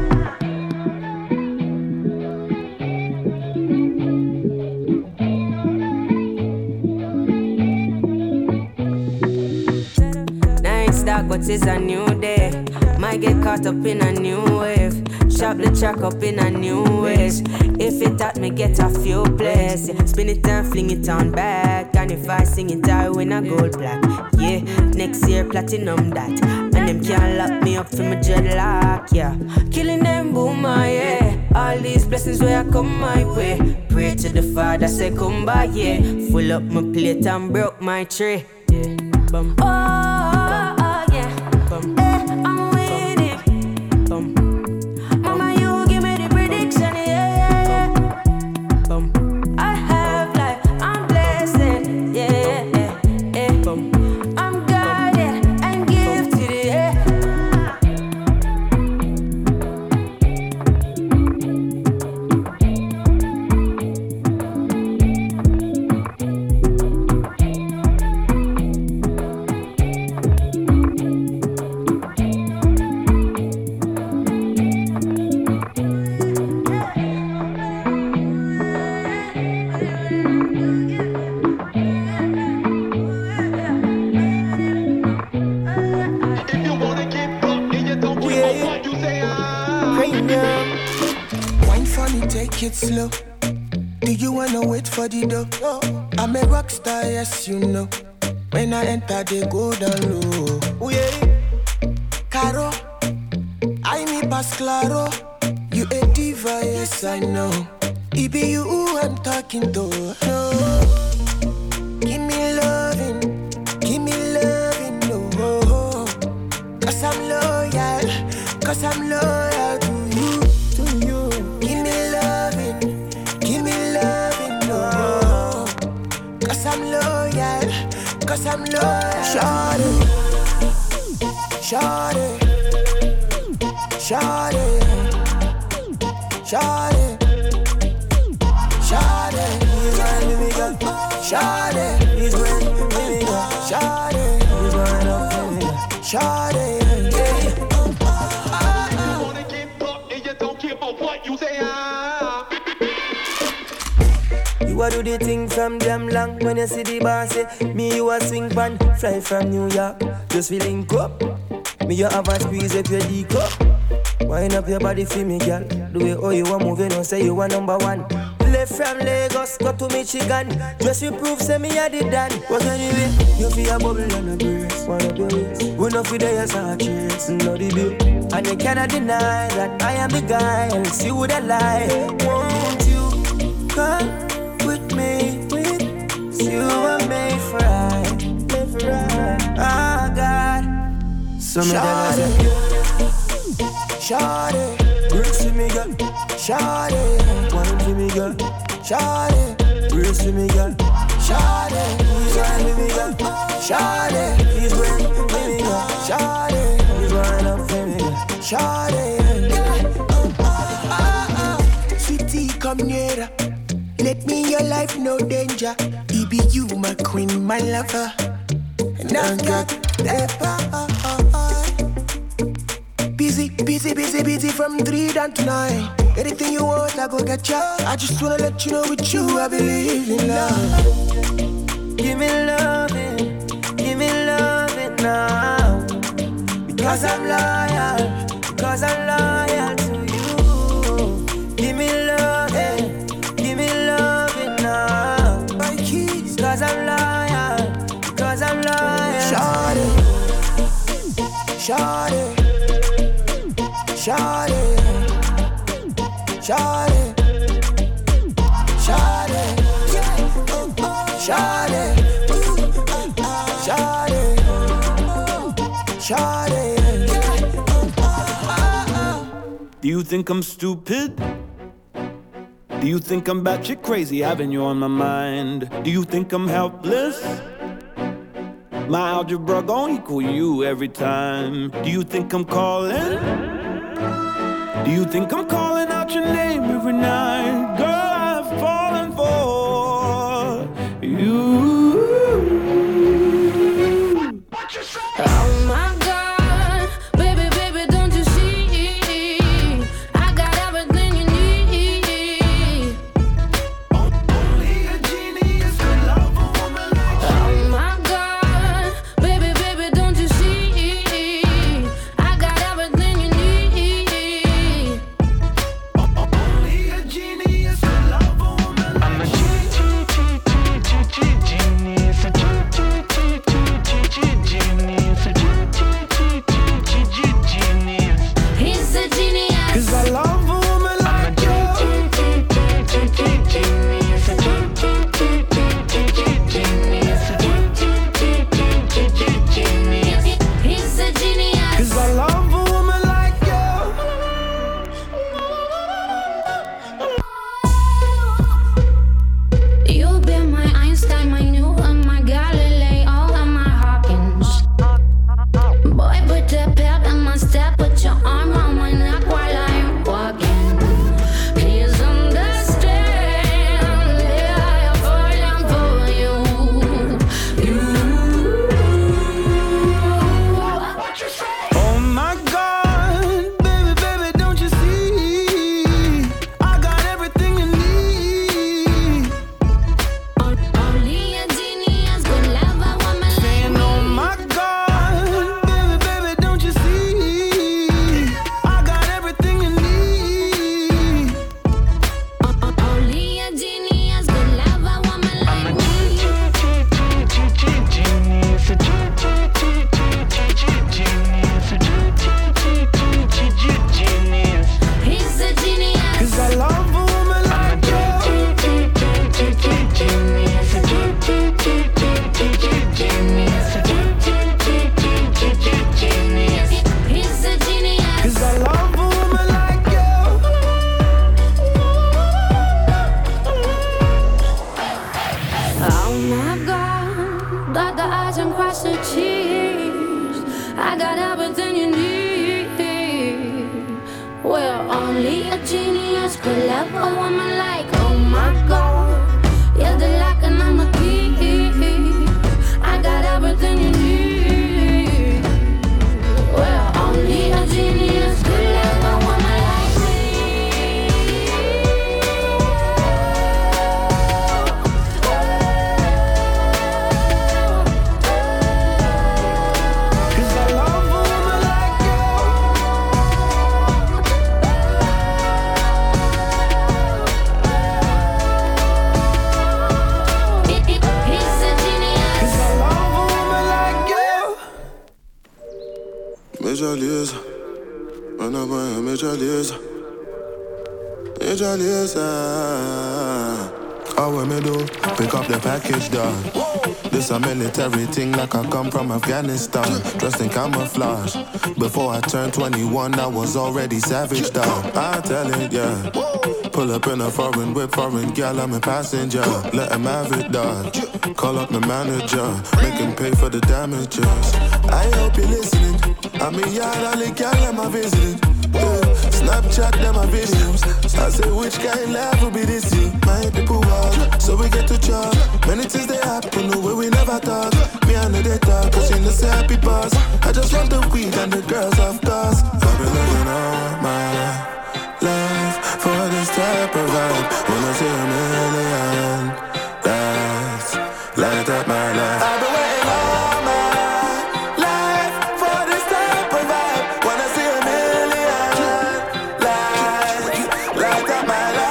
Night's dark, but it's a new day. Might get caught up in a new wave. Chop the track up in a new ways. If it taught me get a few plays, yeah. Spin it and fling it on back. And if I sing it, I win a gold plaque. Yeah, next year platinum that. And them can't lock me up for my dreadlock. Yeah, killing them boomer. Yeah, all these blessings where I come my way. Pray to the Father, say come by. Yeah, full up my plate and broke my tray. Yeah, bum. Oh, oh, oh yeah. Bum. Eh, I'm with it. Bum. Mama, you give me the prediction. Yeah, yeah, yeah. Bum. I have life, I'm blessed. Yeah, yeah, yeah, yeah. Bum. I'm guided and gifted. Yeah. Wine for me, take it slow. Do you wanna wait for the door? I'm a rock star, yes you know. When I enter, they go down low. Oh yeah, Caro, I me pass claro. You a diva, yes I know. It be you who I'm talking to. No. Give me loving, give me loving, no. Cause I'm loyal, cause I'm loyal to you, to you. Give me loving, give me loving, no. Cause I'm loyal, cause I'm loyal. Shawty, shawty, shawty, shawty, shawty. He's right with me, girl. Shawty, he's right with me, girl. Shawty, he's right up with me, girl. Shawty, yeah. You a do the thing from damn long. When you see the bar say me you a swing pan. Fly from New York, just feeling up. Me you have a squeeze up your D cup. Wind up your body for me, girl. The way how you a moving, don't say you a number one. Left from Lagos, go to Michigan. Just you prove, say me a the dan. What anyway, you feel a bubble and a brace. One of your ways, we no feel there as a chase. No the bill, and you cannot deny that I am the guy. Else you woulda lie. Won't you come with me? With you were made for I, made for I. Oh God, so me tell you. Shawty, brace to me, girl. shawty, One to me, girl. shawty, Brace to me, girl. shawty, He's right with me, girl. shawty, He's right with me, girl. shawty, He's right up with me, girl. shawty. Sweetie, come nearer. Let me in your life, no danger. It be you, my queen, my lover. And I've got that power. Busy, busy, busy, busy from three down to nine. Anything you want, I go get ya. I just wanna let you know with you, I believe in love. Give me loving, give me loving now. Because I'm loyal, because I'm loyal to you. Give me loving, give me Shawty, shawty, shawty, shawty, shawty, shawty, shawty, shawty. Do you think I'm stupid? Do you think I'm batshit crazy having you on my mind? Do you think I'm helpless? My algebra gon' equal you every time. Do you think I'm calling? Do you think I'm calling out your name every night? Girl, I've fallen for you. Oh my God, baby, baby, don't you see? I got everything you need. Only a genius could love a woman like you. Oh my God, baby, baby, don't you see? I got everything you need. Only a genius could love a woman like you. I'm a genius, a He's a genius. Cause I love a woman like you. Genius. He's a genius. Cause I love a woman like you. You've been my Einstein, my Newton, my Galileo, and my Hawkins. Boy, put the pep in my step, put your arm on my neck while I'm walking. Please understand, yeah, I'm falling for you. You. Oh my God, baby, baby, don't you see? I got everything you need. Only a genius could love a woman like Saying, oh my God, baby, baby, don't you see? I got everything you need. Only a genius could love a woman like me. He's a genius. Cause I love a woman like you. He's a genius. Cause I love a woman like you. Oh my God, dot the I's and cross the T's. I got everything you need. Well, only a genius could love a woman like. Oh my God, you're the lock and I'm the key. I got everything you need. Well, only a genius could love a woman like me. Cause I love a woman like you. He's a genius. Cause I love a woman like you. Major Liza, when I'm a Major Liza, Major Liza. How we me do? Pick up the package, dog. This a military thing like I come from Afghanistan. Dressed in camouflage. Before I turned twenty-one, I was already savage, dog. I tell it, yeah. Pull up in a foreign whip, foreign gal, I'm a passenger. Let him have it, dog. Call up the manager, make him pay for the damages. I hope you're listening. I'm a yard, all the gal, I'm a visiting. Yeah. Snapchat, them my videos. I say, which kind life will be this year? My people walk, so we get to chop. Many things they happen, the way we never talk. Me and the talk, cause you know say happy boss. I just want the weed and the girls, of course. I've been living all my life for this type of vibe. When I see a million lights, light up my life. I've been waiting all my life for this type of vibe. When I see a million lights, light up my life.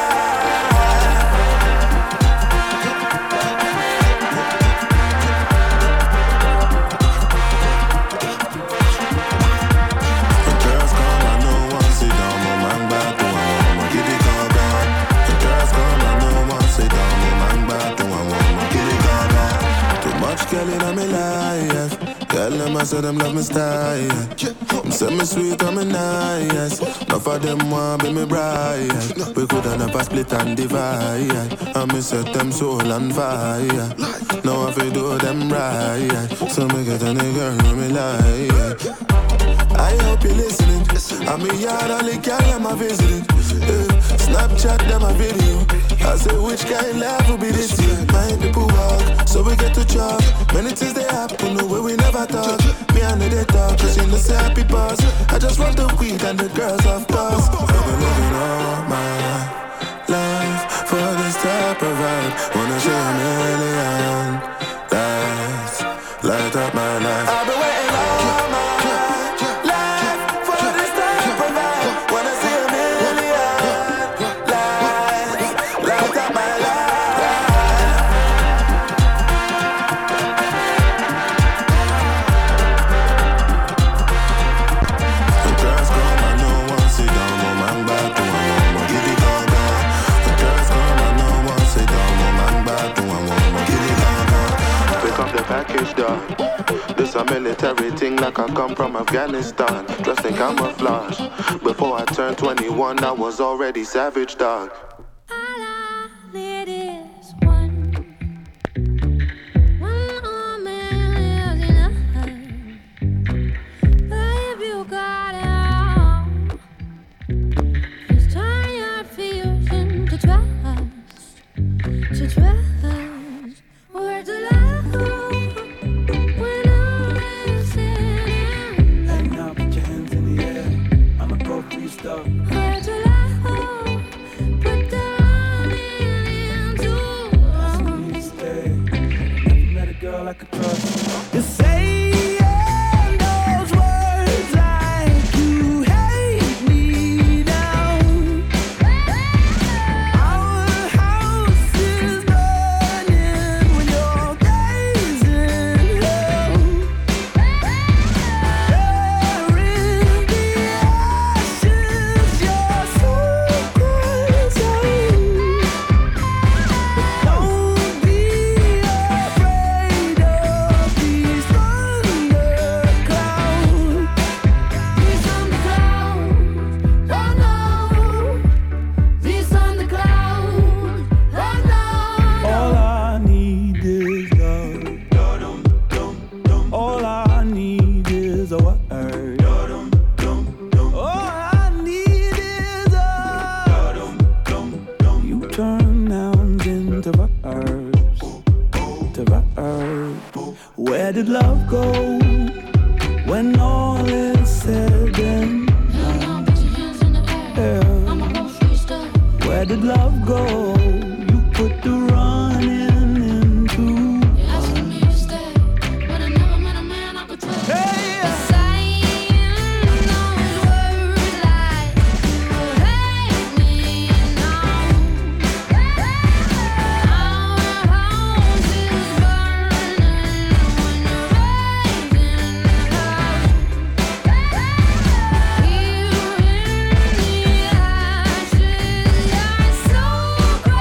Tell them I said them love me style. Send me sweet, I'm nice. Enough of them want be me bride. We coulda never split and divide. I me set them soul on fire. Now I feel do them right. So me get any girl who me like. I hope you're listening. I'm a yard only girl I'm a visiting. Uh, Snapchat them a video. I say which kind life will be this year. My people walk, so we get to chop. Many things they happen the way we never thought. Me and they talk, cause you know say happy pass. I just want the weed and the girls of course. I've been living all my life for this type of vibe. Wanna show a million lights, light up my life. I've been waiting all my life for this type of vibe. Wanna see a million lights, light up my life. The girls come and no one sit down, no man back to one more. Give it all down. The girls come and no one sit down, no man back to one more. Give it all down. Pick up the package, dog. This a military thing like I come from Afghanistan. Dressed in camouflage. Before I turned twenty-one, I was already savage, dog. It is one. One more man lives in a But if you got it all, just turn your fears into trust. To trust. Words of love. When all is said and done. And now put your hands in the air. I'ma go free stuff. Words of love. Put the running into us. Stay. Never met a girl I could trust. You say those words like you hate me down. Our house is burning when you're gazing hell. There in the ashes, your soul cries out. Don't be afraid of these thunderclouds. These thunderclouds, oh no. These thunderclouds, oh no. All I need is love. All I need is a word. All I need is a. You turn nouns into verbs. To verbs. Where did love go when all is said and done? Yeah. Where did love go? You put the running into So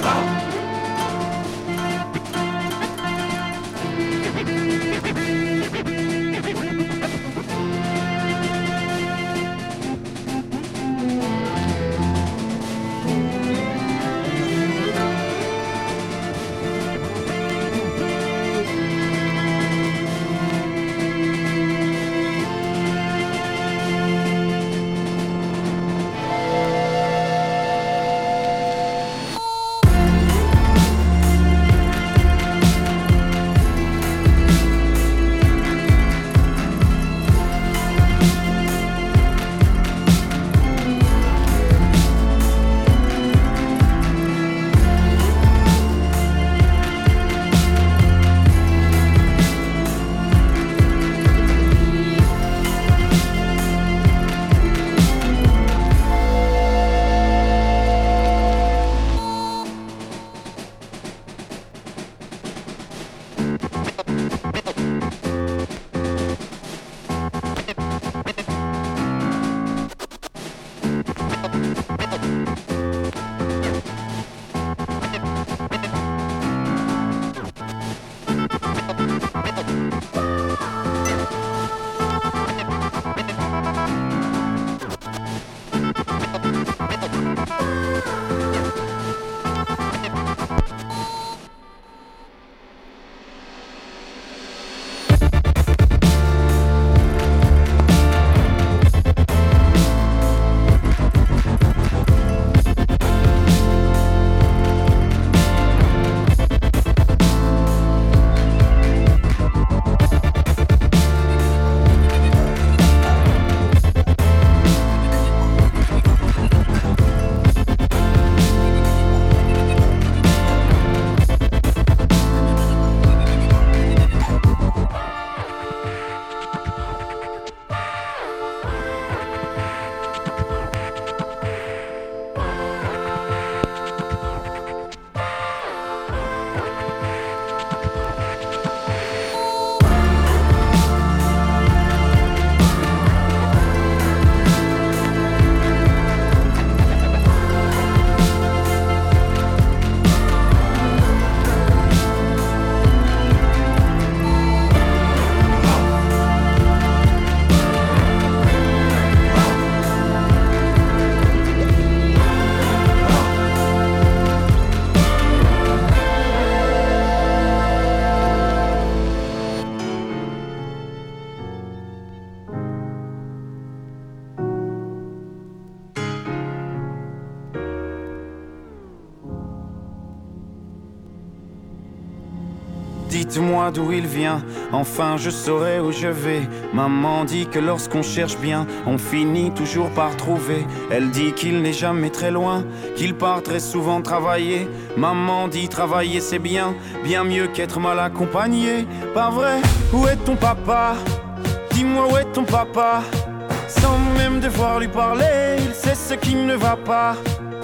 Dites-moi d'où il vient, enfin je saurai où je vais. Maman dit que lorsqu'on cherche bien, on finit toujours par trouver. Elle dit qu'il n'est jamais très loin, qu'il part très souvent travailler. Maman dit travailler c'est bien, bien mieux qu'être mal accompagné. Pas vrai? Où est ton papa? Dis-moi où est ton papa? Sans même devoir lui parler, il sait ce qui ne va pas.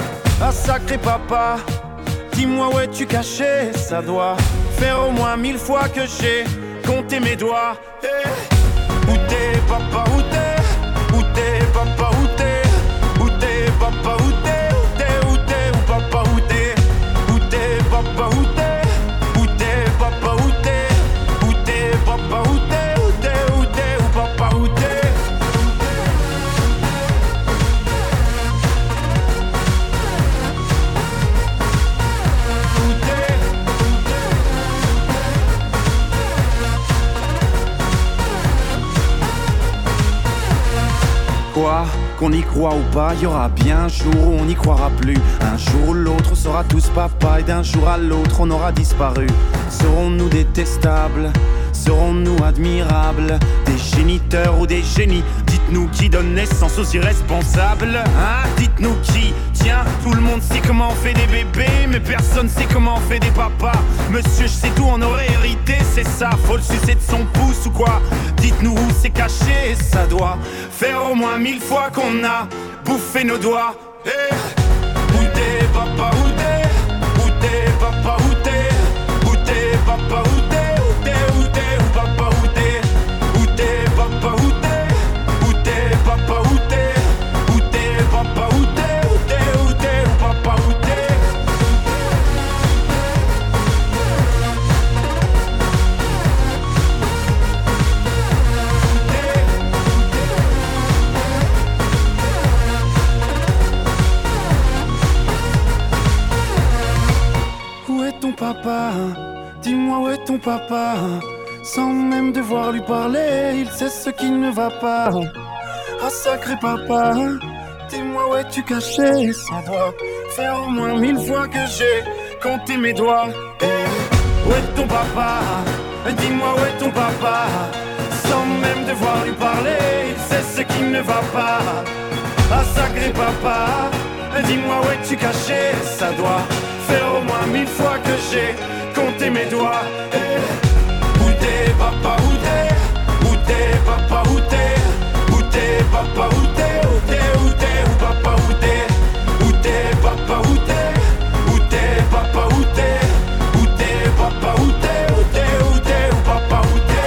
Ah sacré papa, dis-moi où es-tu caché? Ça doit faire au moins mille fois que j'ai compté mes doigts. Hey. Où t'es papa, où t'es? Où t'es papa, où t'es? Où t'es papa, où t'es? Où t'es, où t'es, où papa, où t'es? Où t'es papa, où t'es? Où t'es papa, où t'es? Où t'es papa, où t'es? Où t'es, où t'es, où papa, où t'es? Quoi, qu'on y croit ou pas, y aura bien un jour où on n'y croira plus. Un jour ou l'autre, on sera tous papa, et d'un jour à l'autre, on aura disparu. Serons-nous détestables? Serons-nous admirables? Des géniteurs ou des génies? Dites-nous qui donne naissance aux irresponsables. Hein? Dites-nous qui? Tiens, tout le monde sait comment on fait des bébés, mais personne sait comment on fait des papas. Monsieur, je sais tout, on aurait hérité, c'est ça. Faut le sucer de son pouce ou quoi? Dites-nous où c'est caché, ça doit faire au moins mille fois qu'on a bouffé nos doigts. Hey. Où t'es papa, où t'es? Où t'es papa, où t'es? Où t'es papa, où t'es? Où t'es, où t'es, où papa, où t'es? Où t'es papa, où t'es? Où t'es papa, où t'es? Où t'es papa, où t'es? Où t'es, où t'es, où papa, où t'es? papa, dis-moi où est ton papa. Sans même devoir lui parler, il sait ce qui ne va pas. Ah sacré papa, dis-moi où es-tu caché. Ça doit faire au moins mille fois que j'ai compté mes doigts. Eh, où est ton papa? Dis-moi où est ton papa? Sans même devoir lui parler, il sait ce qui ne va pas. Ah sacré papa, dis-moi où es-tu caché. Ça doit faire au moins mille fois que j'ai compté mes doigts. Eh, où t'es papa, où t'es? Où t'es papa, où t'es? Où t'es papa, où t'es? Où t'es, où t'es, où papa, où t'es? Où t'es papa, où t'es? Où t'es papa, où t'es? Où t'es papa, où t'es? Où t'es, où t'es, où papa, où t'es?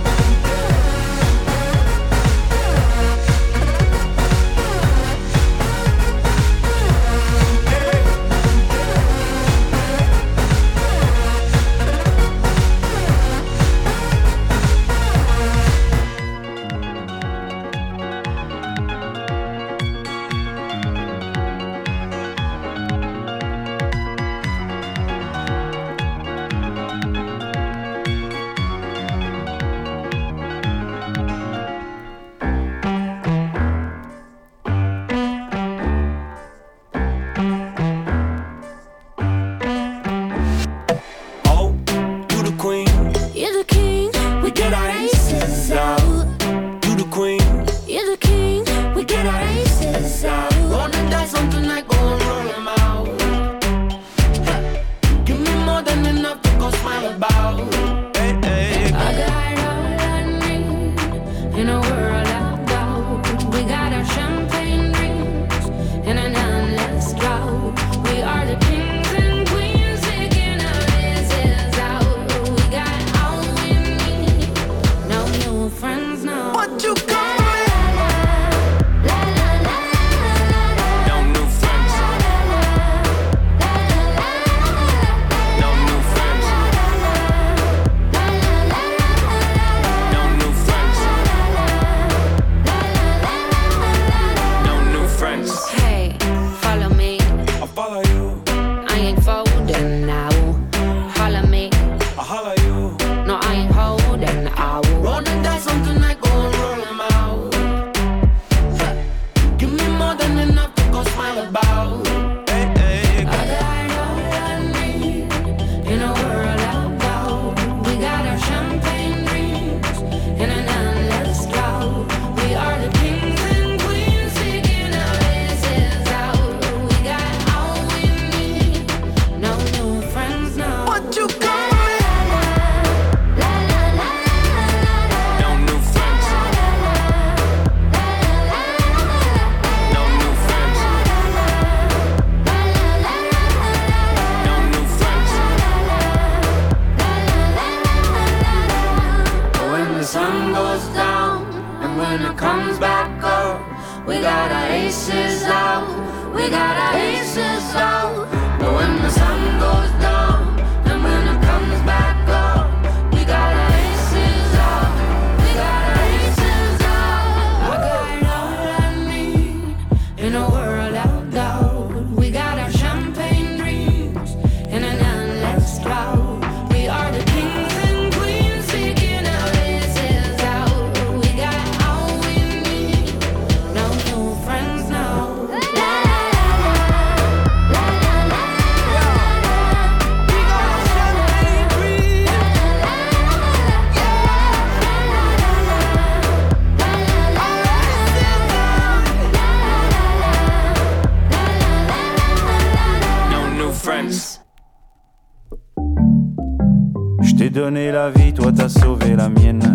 Donné la vie, toi t'as sauvé la mienne.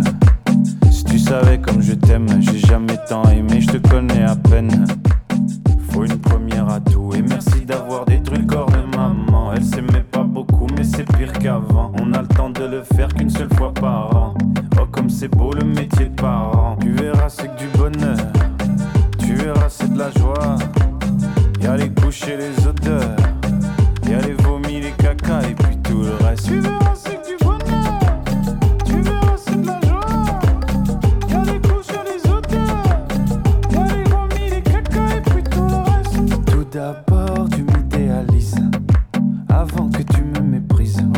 Si tu savais comme je t'aime, j'ai jamais tant aimé, je te connais à peine. Faut une première à tout et merci d'avoir détruit le corps de maman. Elle s'aimait pas beaucoup mais c'est pire qu'avant. On a le temps de le faire qu'une seule fois par an. Oh comme c'est beau le métier de parent. Tu verras c'est que du bonheur, tu verras c'est de la joie. Y'a les couches et les odeurs, y'a les vomis, les caca et puis tout le reste. Tu verras c'est que du bonheur. D'abord tu m'idéalises, avant que tu me méprises.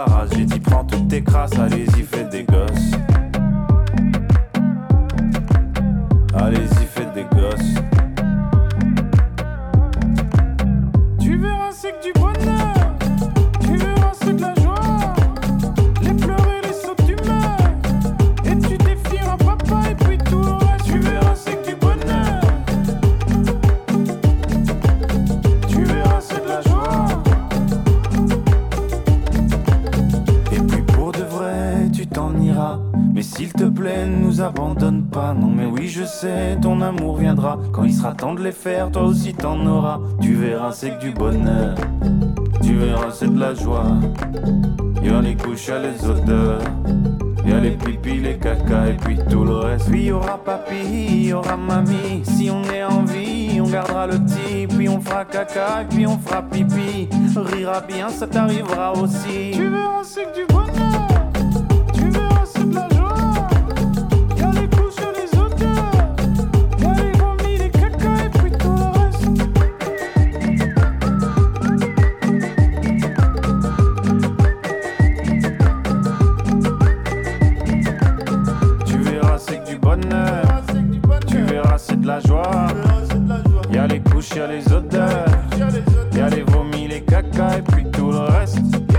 race. J'ai dit prends toutes tes crasses, allez-y faites des gosses. Allez-y faites des gosses. Tu verras c'est que du bonheur. Tu verras c'est de la joie. Les pleurs et les sauts que tu meurs. Et tu défieras papa et puis tout le reste. Tu verras c'est que du bonheur. Tu verras c'est de la joie. Et puis pour de vrai tu t'en iras. Mais s'il te plaît ne nous abandonne pas. Non mais oui je sais ton amour viendra. Quand il sera temps de les faire toi aussi t'en auras. Tu verras c'est que du bonheur. Tu verras c'est de la joie. Y'a les couches, y'a les odeurs. Y'a les pipis, les caca et puis tout le reste. Puis y'aura papy, y'aura mamie. Si on est en vie, on gardera le petit. Puis on fera caca et puis on fera pipi. Rira bien, ça t'arrivera aussi. Tu verras c'est que du bonheur. Tu verras c'est de la joie. Y'a les couches, y'a les odeurs. Y'a les vomis, les caca et puis tout le reste. Tu verras c'est que du bonheur. Tu verras c'est de la joie. Y'a les couches, y'a les odeurs. Y'a les vomis, les caca et puis tout le reste.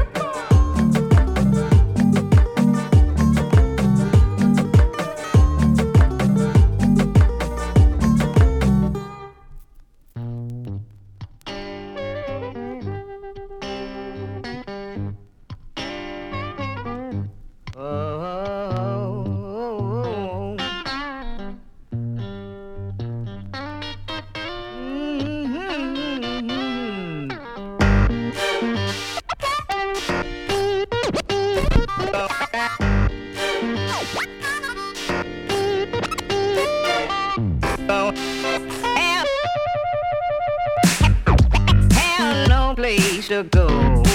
Have no place to go.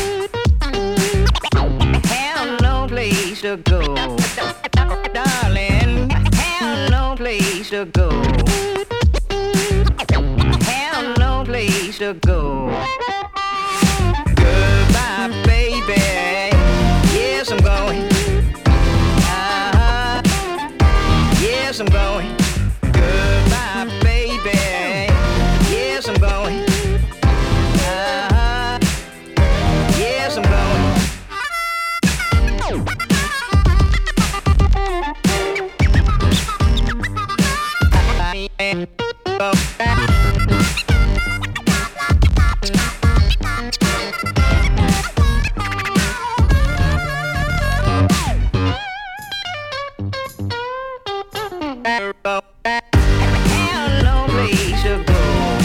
Have no place to go. Darling, have no place to go. Have no place to go. Goodbye, baby. Yes, I'm going. Uh-huh. Yes, I'm going. Goodbye, baby. Yes, I'm going. Uh-huh. Yes, I'm going. Have no place to go.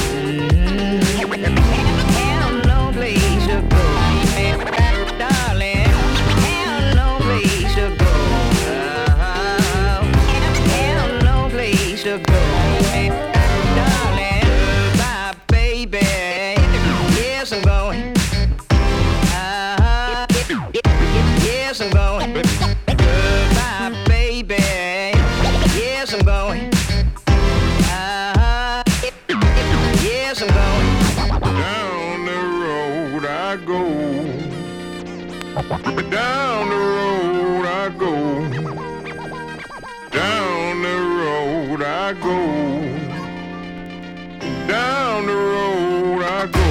Have no place to go. Darling, have no place to go. Uh-huh. Have no place to go. Darling, bye, baby. Yes, I'm going. Uh-huh. Yes, I'm going. Goodbye, baby. Yes, I'm going. Uh-huh. Yes, I'm going. Down the road I go. Down the road I go. Down the road I go. Down the road I go.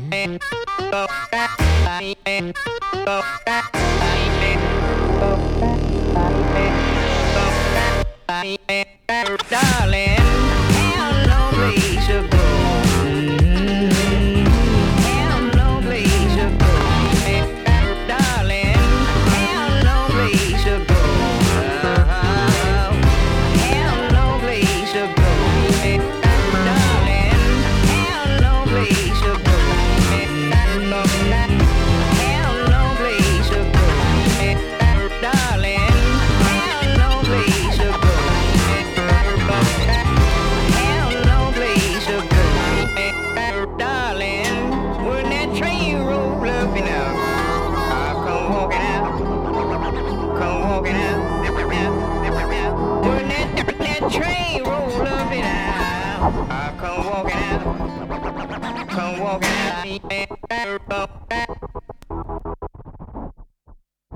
Darling, have no place to go. Have no place to go. Darling, have no place to go. Uh-huh. Have no place to go. Darling, have no place to go. Have no place to go. Darling, have no place to go. Have no place to go. Darling, when that train roll up and out, I'll come walking out. Come walking out. When that, that train roll up and out, I'll come walking out. Come walking out.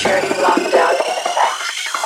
Security lockdown in effect.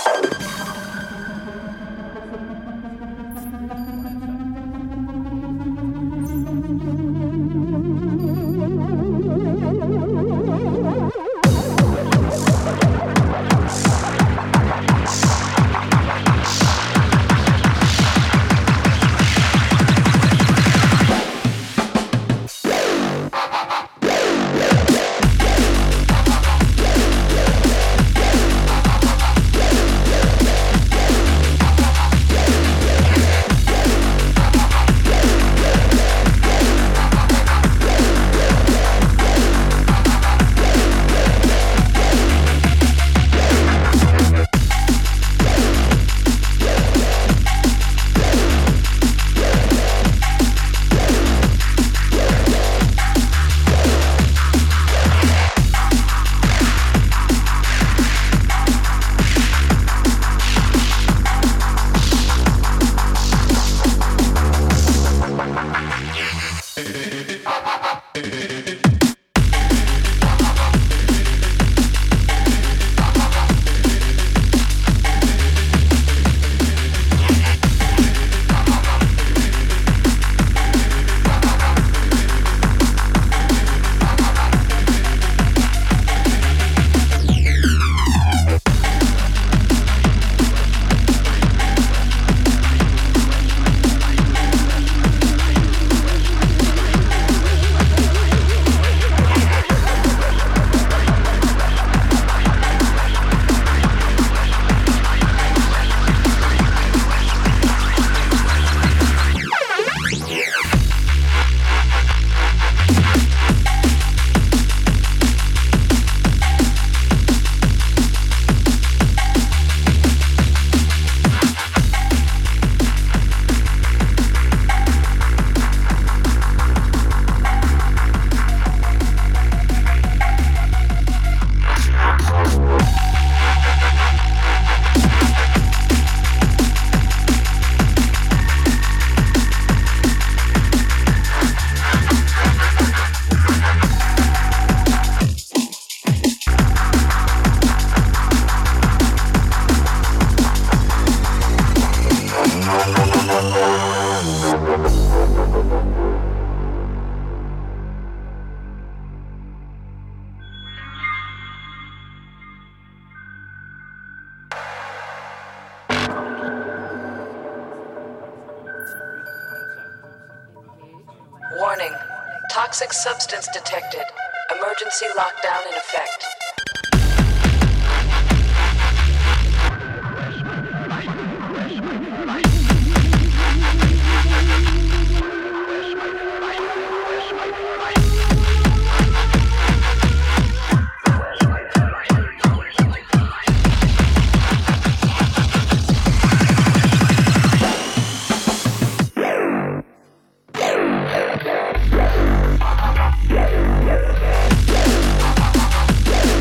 Warning. Toxic substance detected. Emergency lockdown in effect. Yeah.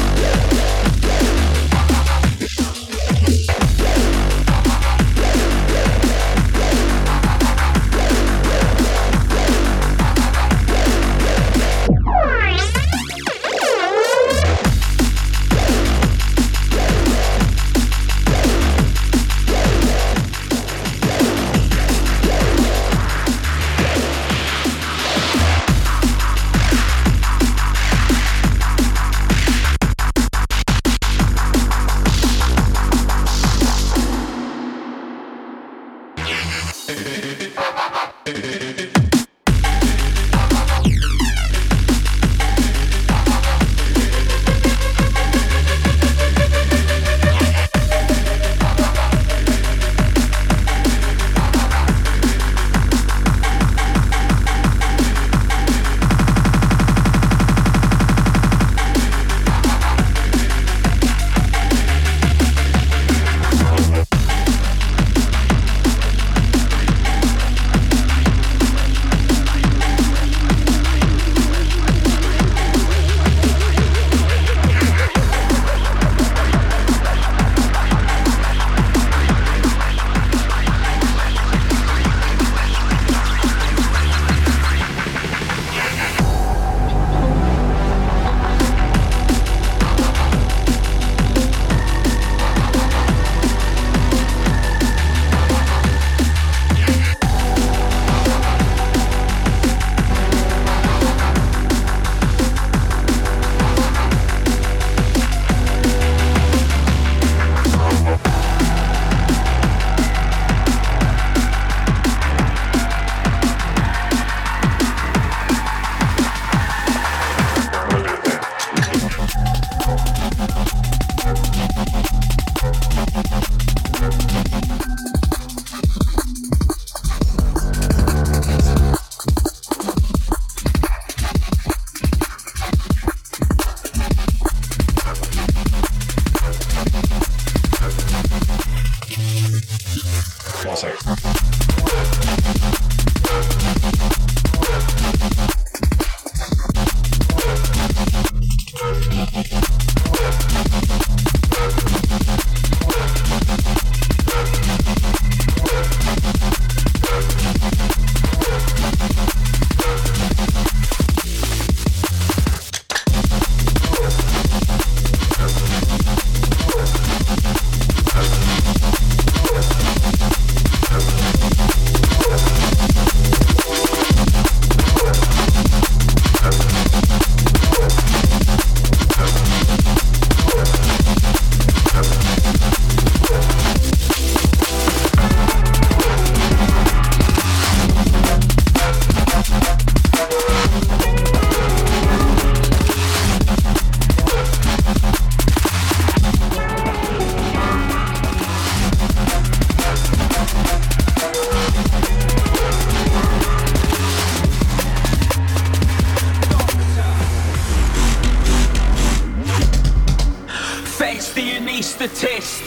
statist.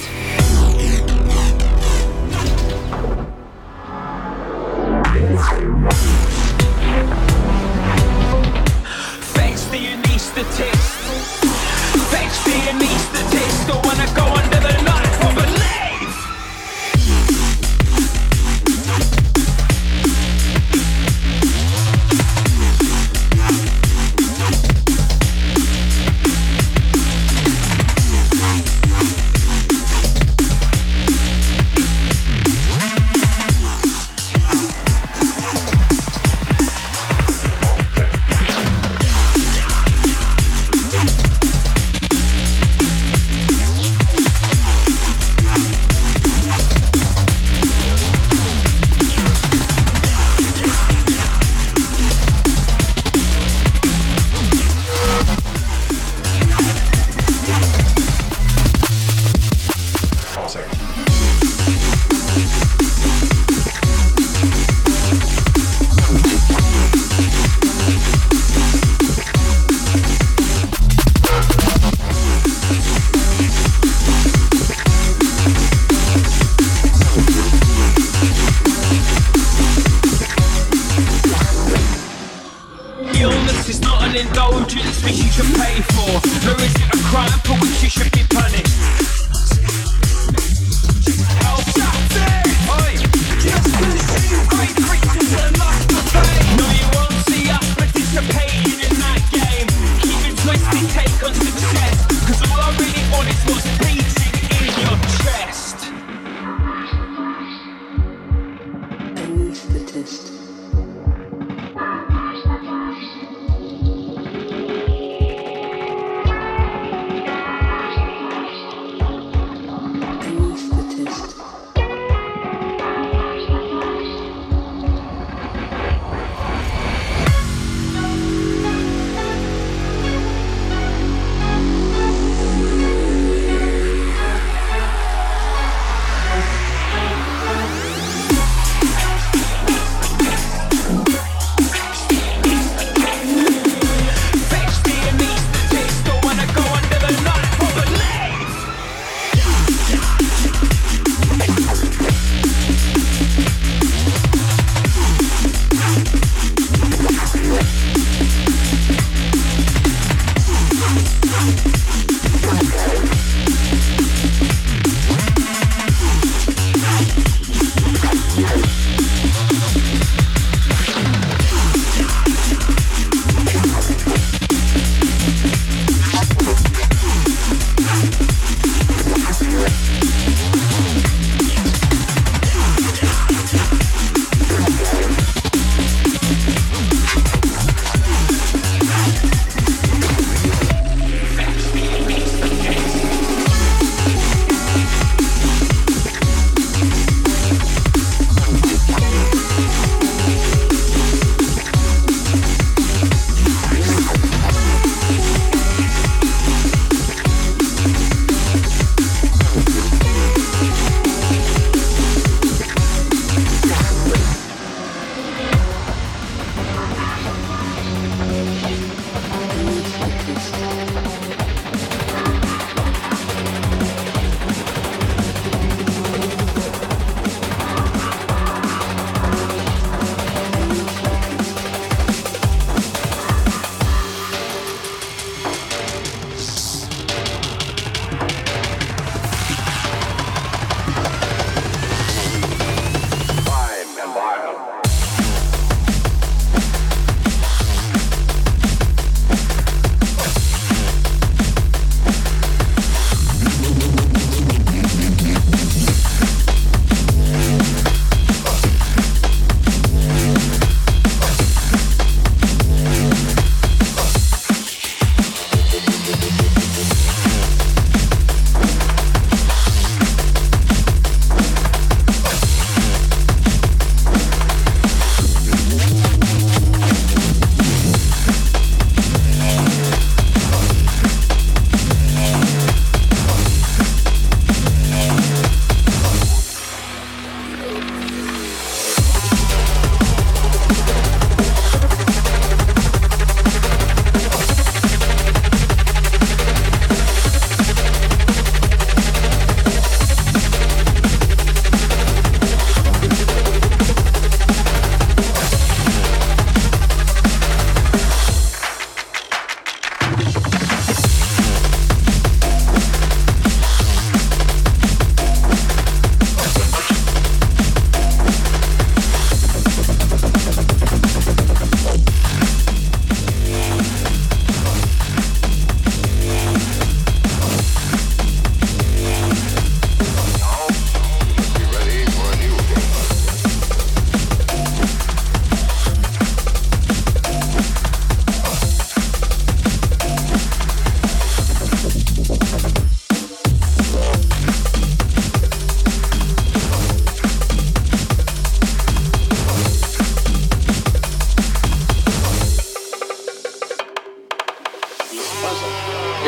Thanks to your statist. Thanks to your statist. Don't wanna go under the knife or believe. Illness is not an indulgence which you should pay for, nor is it a crime for which you should be punished. Oh, that's it! Oi! Just because you great creatures that lust for fame. No, you won't see us participating in that game. Keeping twisted take on success, cause all I really want is what's beating in your chest. Anesthetist.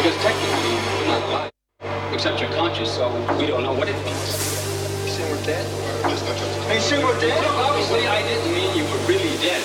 Because technically, we're not alive. Except you're conscious, so we don't know what it means. You saying we're dead? Are you saying we're dead? No, obviously I didn't mean you were really dead.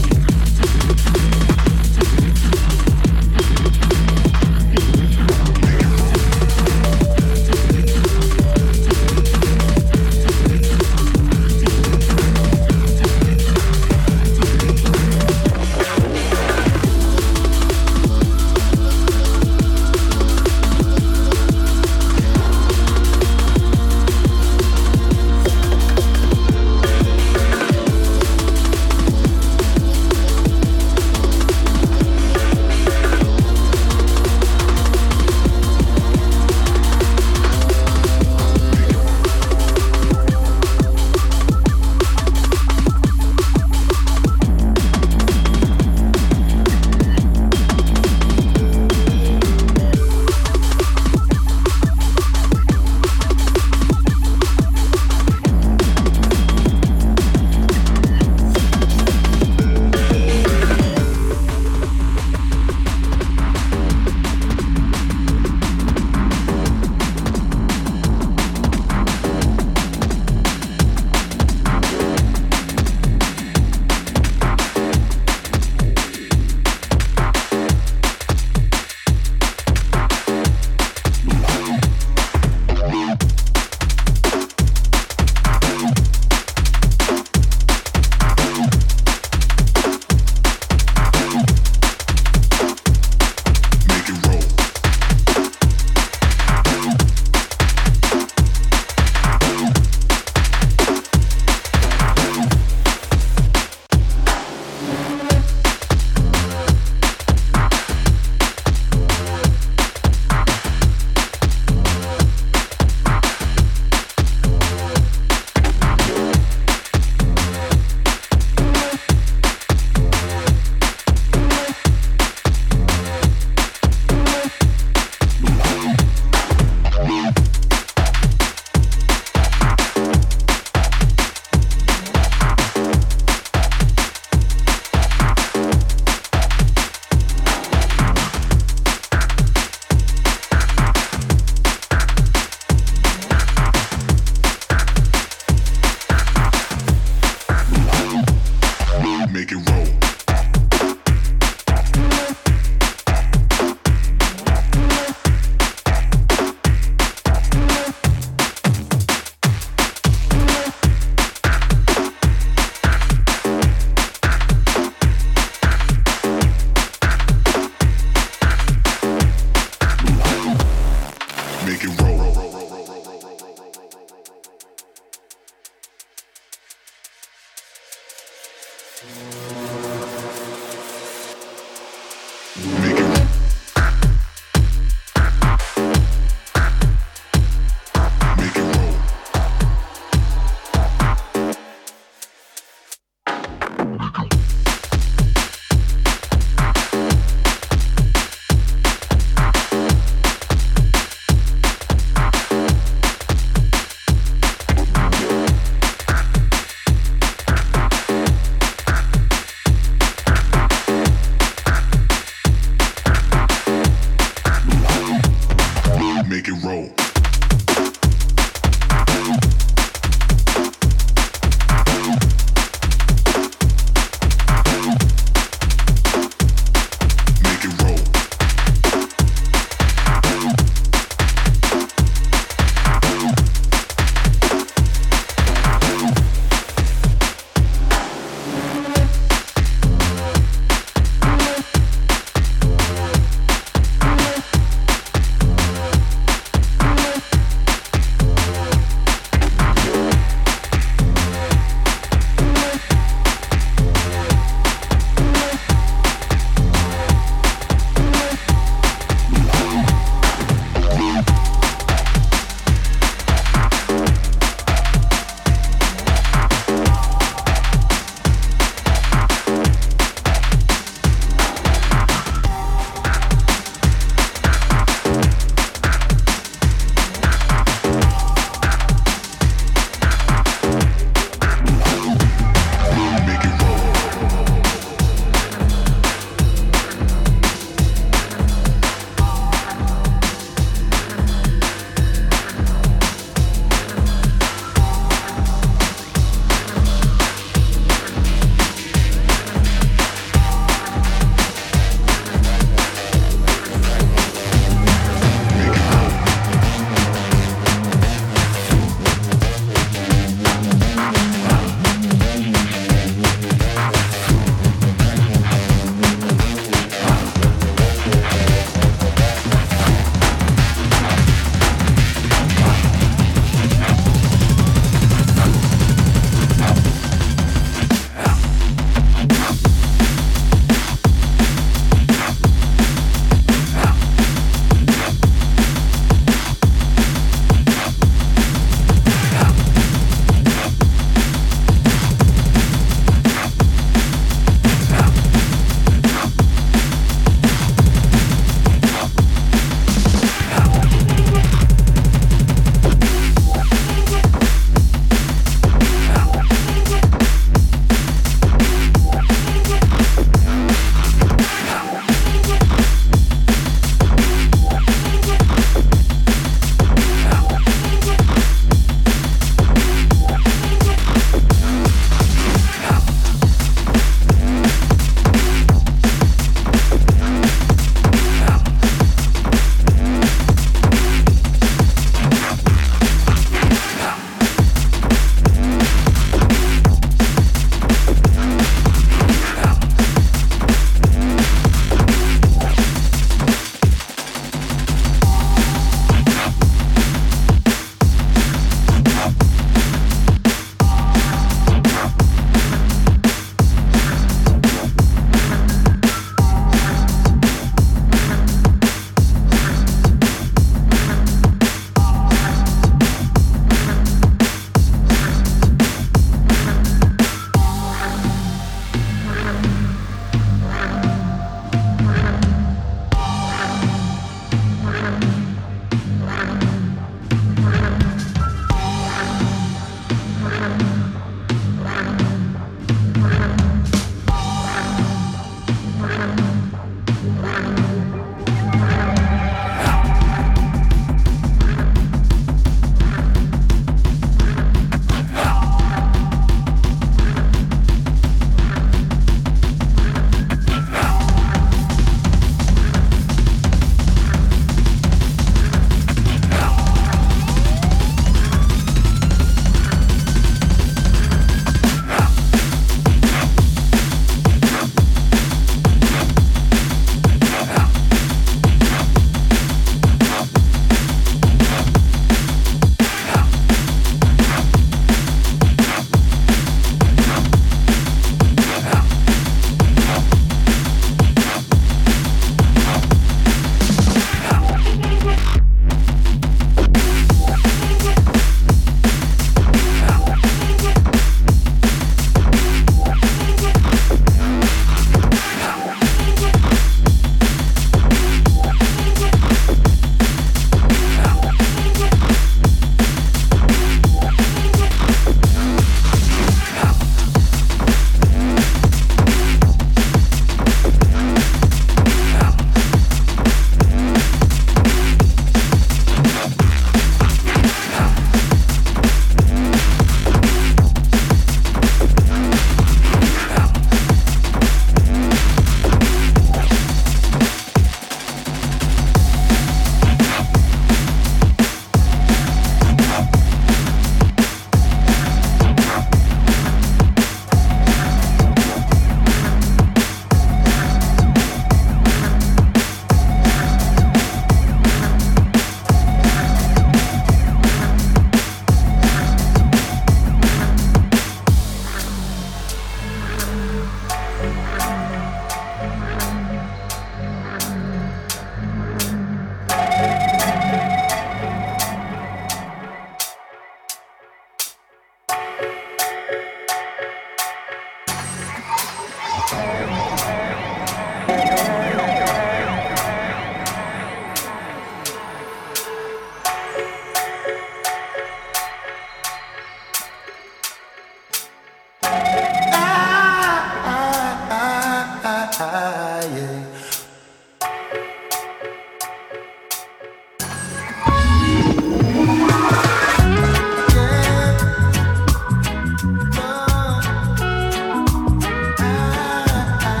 Ah,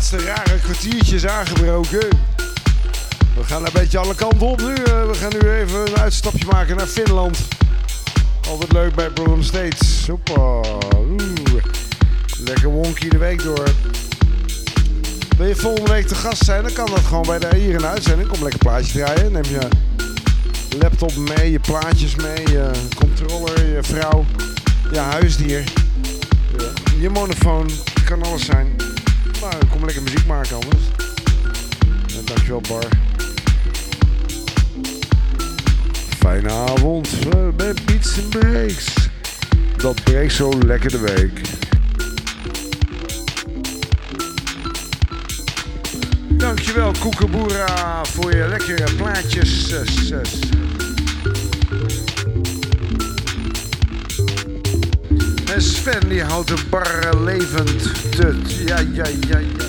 laatste rare kwartiertje is aangebroken. We gaan een beetje alle kanten op nu. We gaan nu even een uitstapje maken naar Finland. Altijd leuk bij Problem States. Hoppa. Oeh. Lekker wonky de week door. Wil je volgende week te gast zijn, dan kan dat gewoon bij de, hier in de uitzending. Kom lekker plaatje draaien. Neem je laptop mee, je plaatjes mee, je controller, je vrouw, je huisdier, je, je monofoon. Kan alles zijn. Maar kom lekker muziek maken anders. Ja, dankjewel Bar. Fijne avond bij Beats and Breaks. Dat breekt zo lekker de week. Dankjewel Koekeboera voor je lekkere plaatjes. En Sven die houdt de bar levend. Tut. Ja, ja, ja, ja.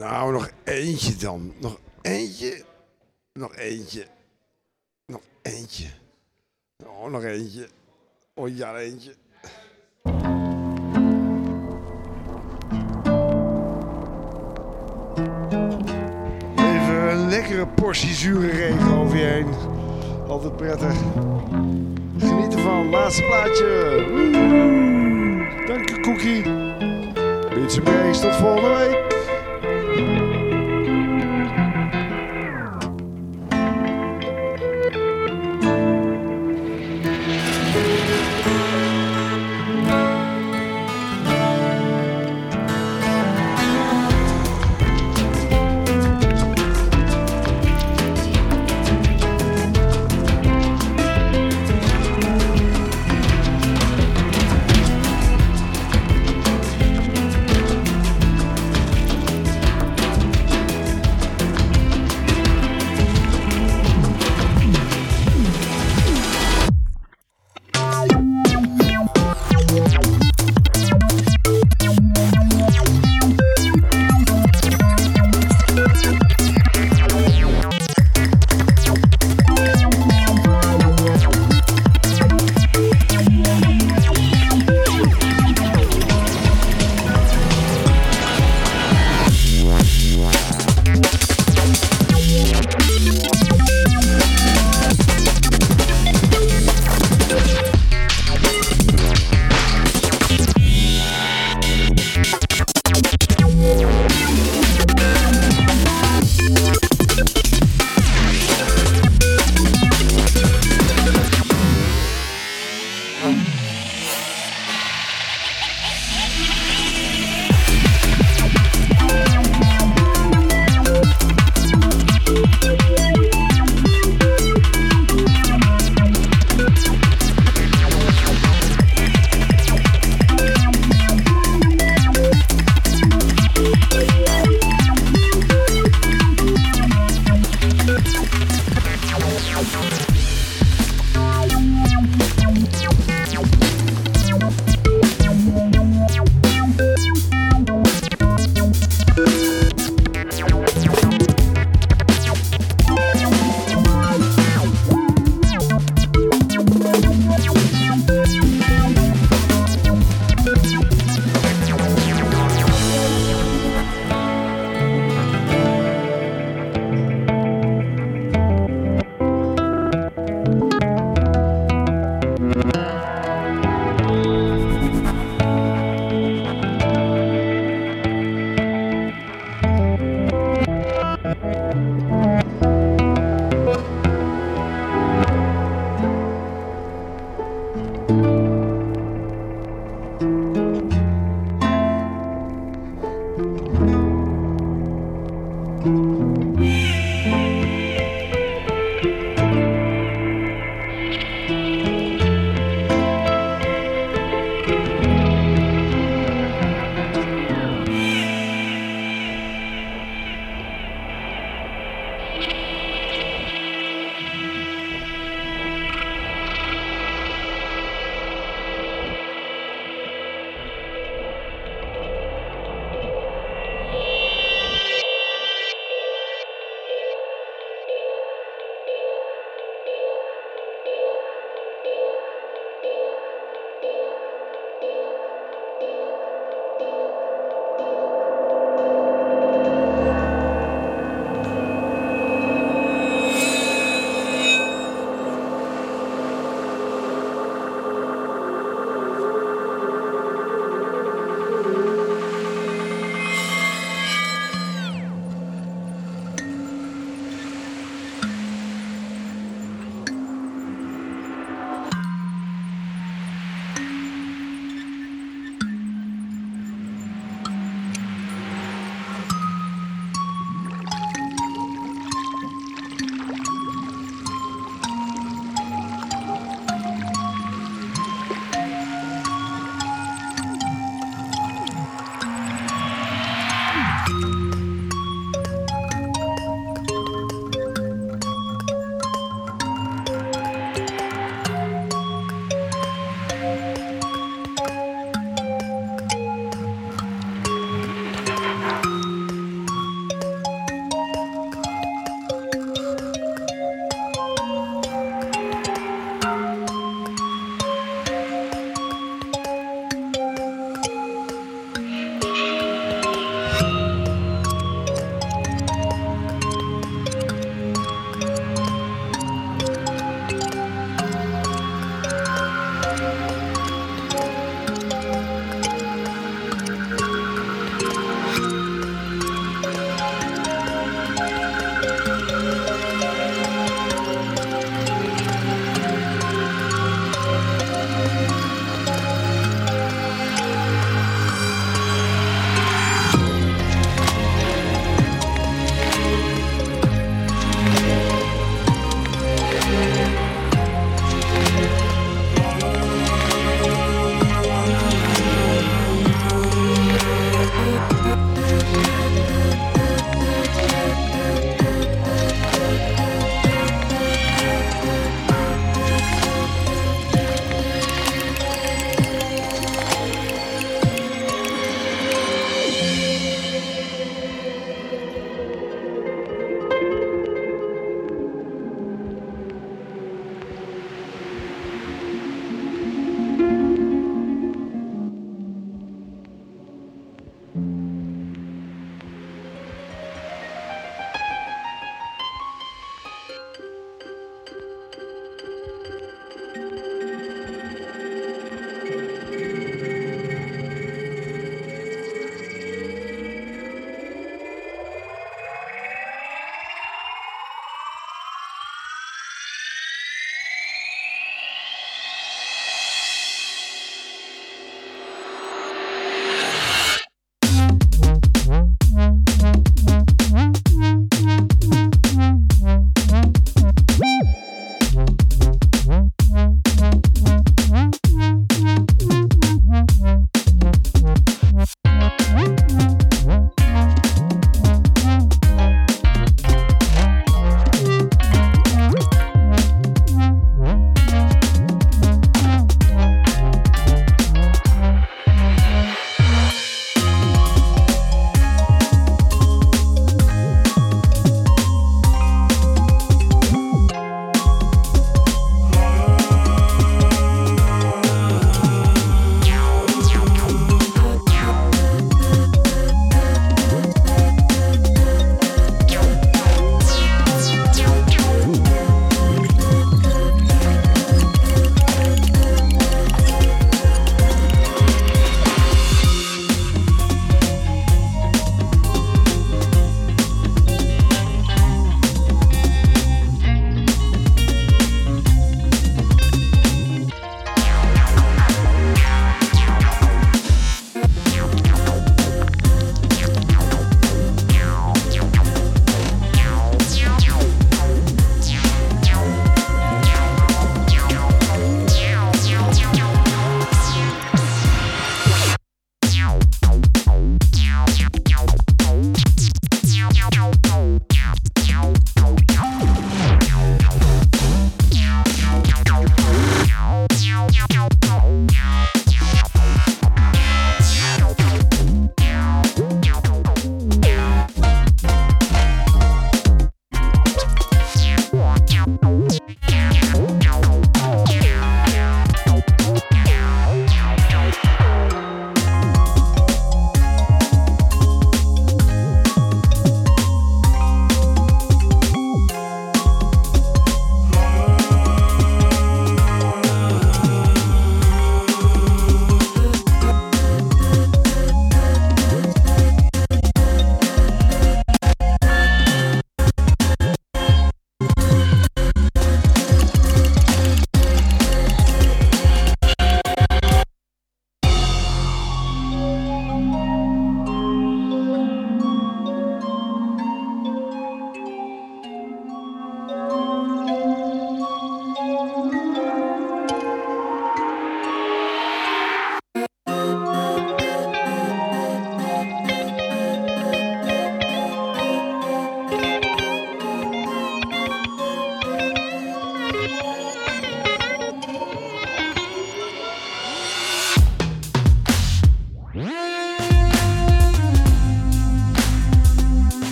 Nou, nog eentje dan. Nog eentje. Nog eentje. Nog eentje. Oh, nog eentje. Oh ja, eentje. Even een lekkere portie zure regen over je heen. Altijd prettig. Geniet ervan. Laatste plaatje. Woe. Dank je, Cookie. Beats and Breaks. Tot volgende week.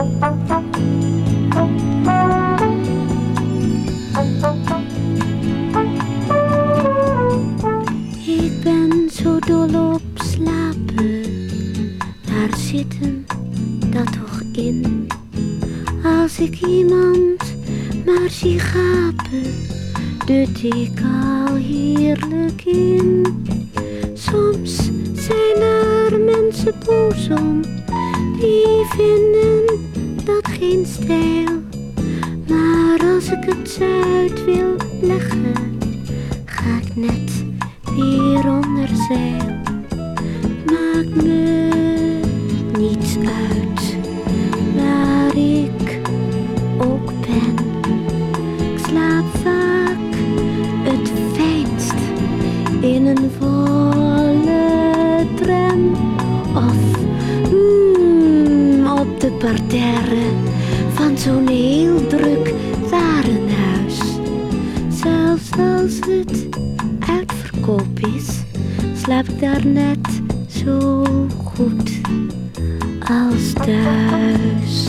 Ik ben zo dol op slapen, daar zit hem dat toch in. Als ik iemand maar zie gapen, dut ik al heerlijk in. Soms zijn er mensen boos om, die vinden dat geen stijl. Maar als ik het uit wil leggen, ga ik net weer onder zeil. Maakt me niets uit waar ik ook ben. Ik slaap vaak het fijnst in een volle tram of mm, op de parterre van zo'n heel druk warenhuis. Zelfs als het uitverkoop is, slaap ik daar net zo goed als thuis.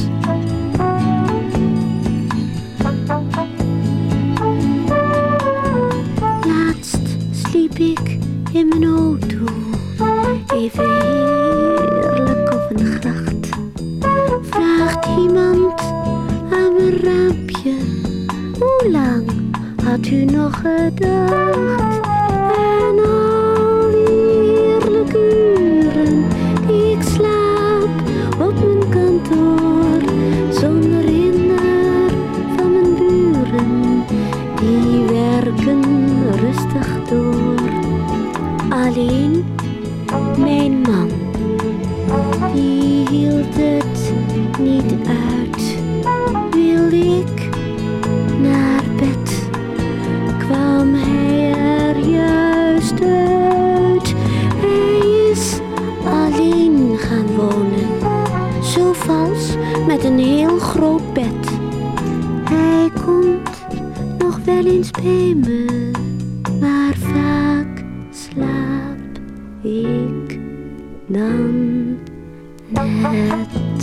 Laatst sliep ik in mijn auto, even heerlijk op een gracht. Vraagt iemand aan mijn raampje, hoe lang had u nog gedacht? En al die heerlijke uren die ik slaap op mijn kantoor, zonder hinder van mijn buren, die werken rustig door. Alleen mijn man, die hield het niet uit. Wil ik naar bed, kwam hij er juist uit. Hij is alleen gaan wonen, zo vals met een heel groot bed. Hij komt nog wel eens bij me, maar vaak slaap ik dan net.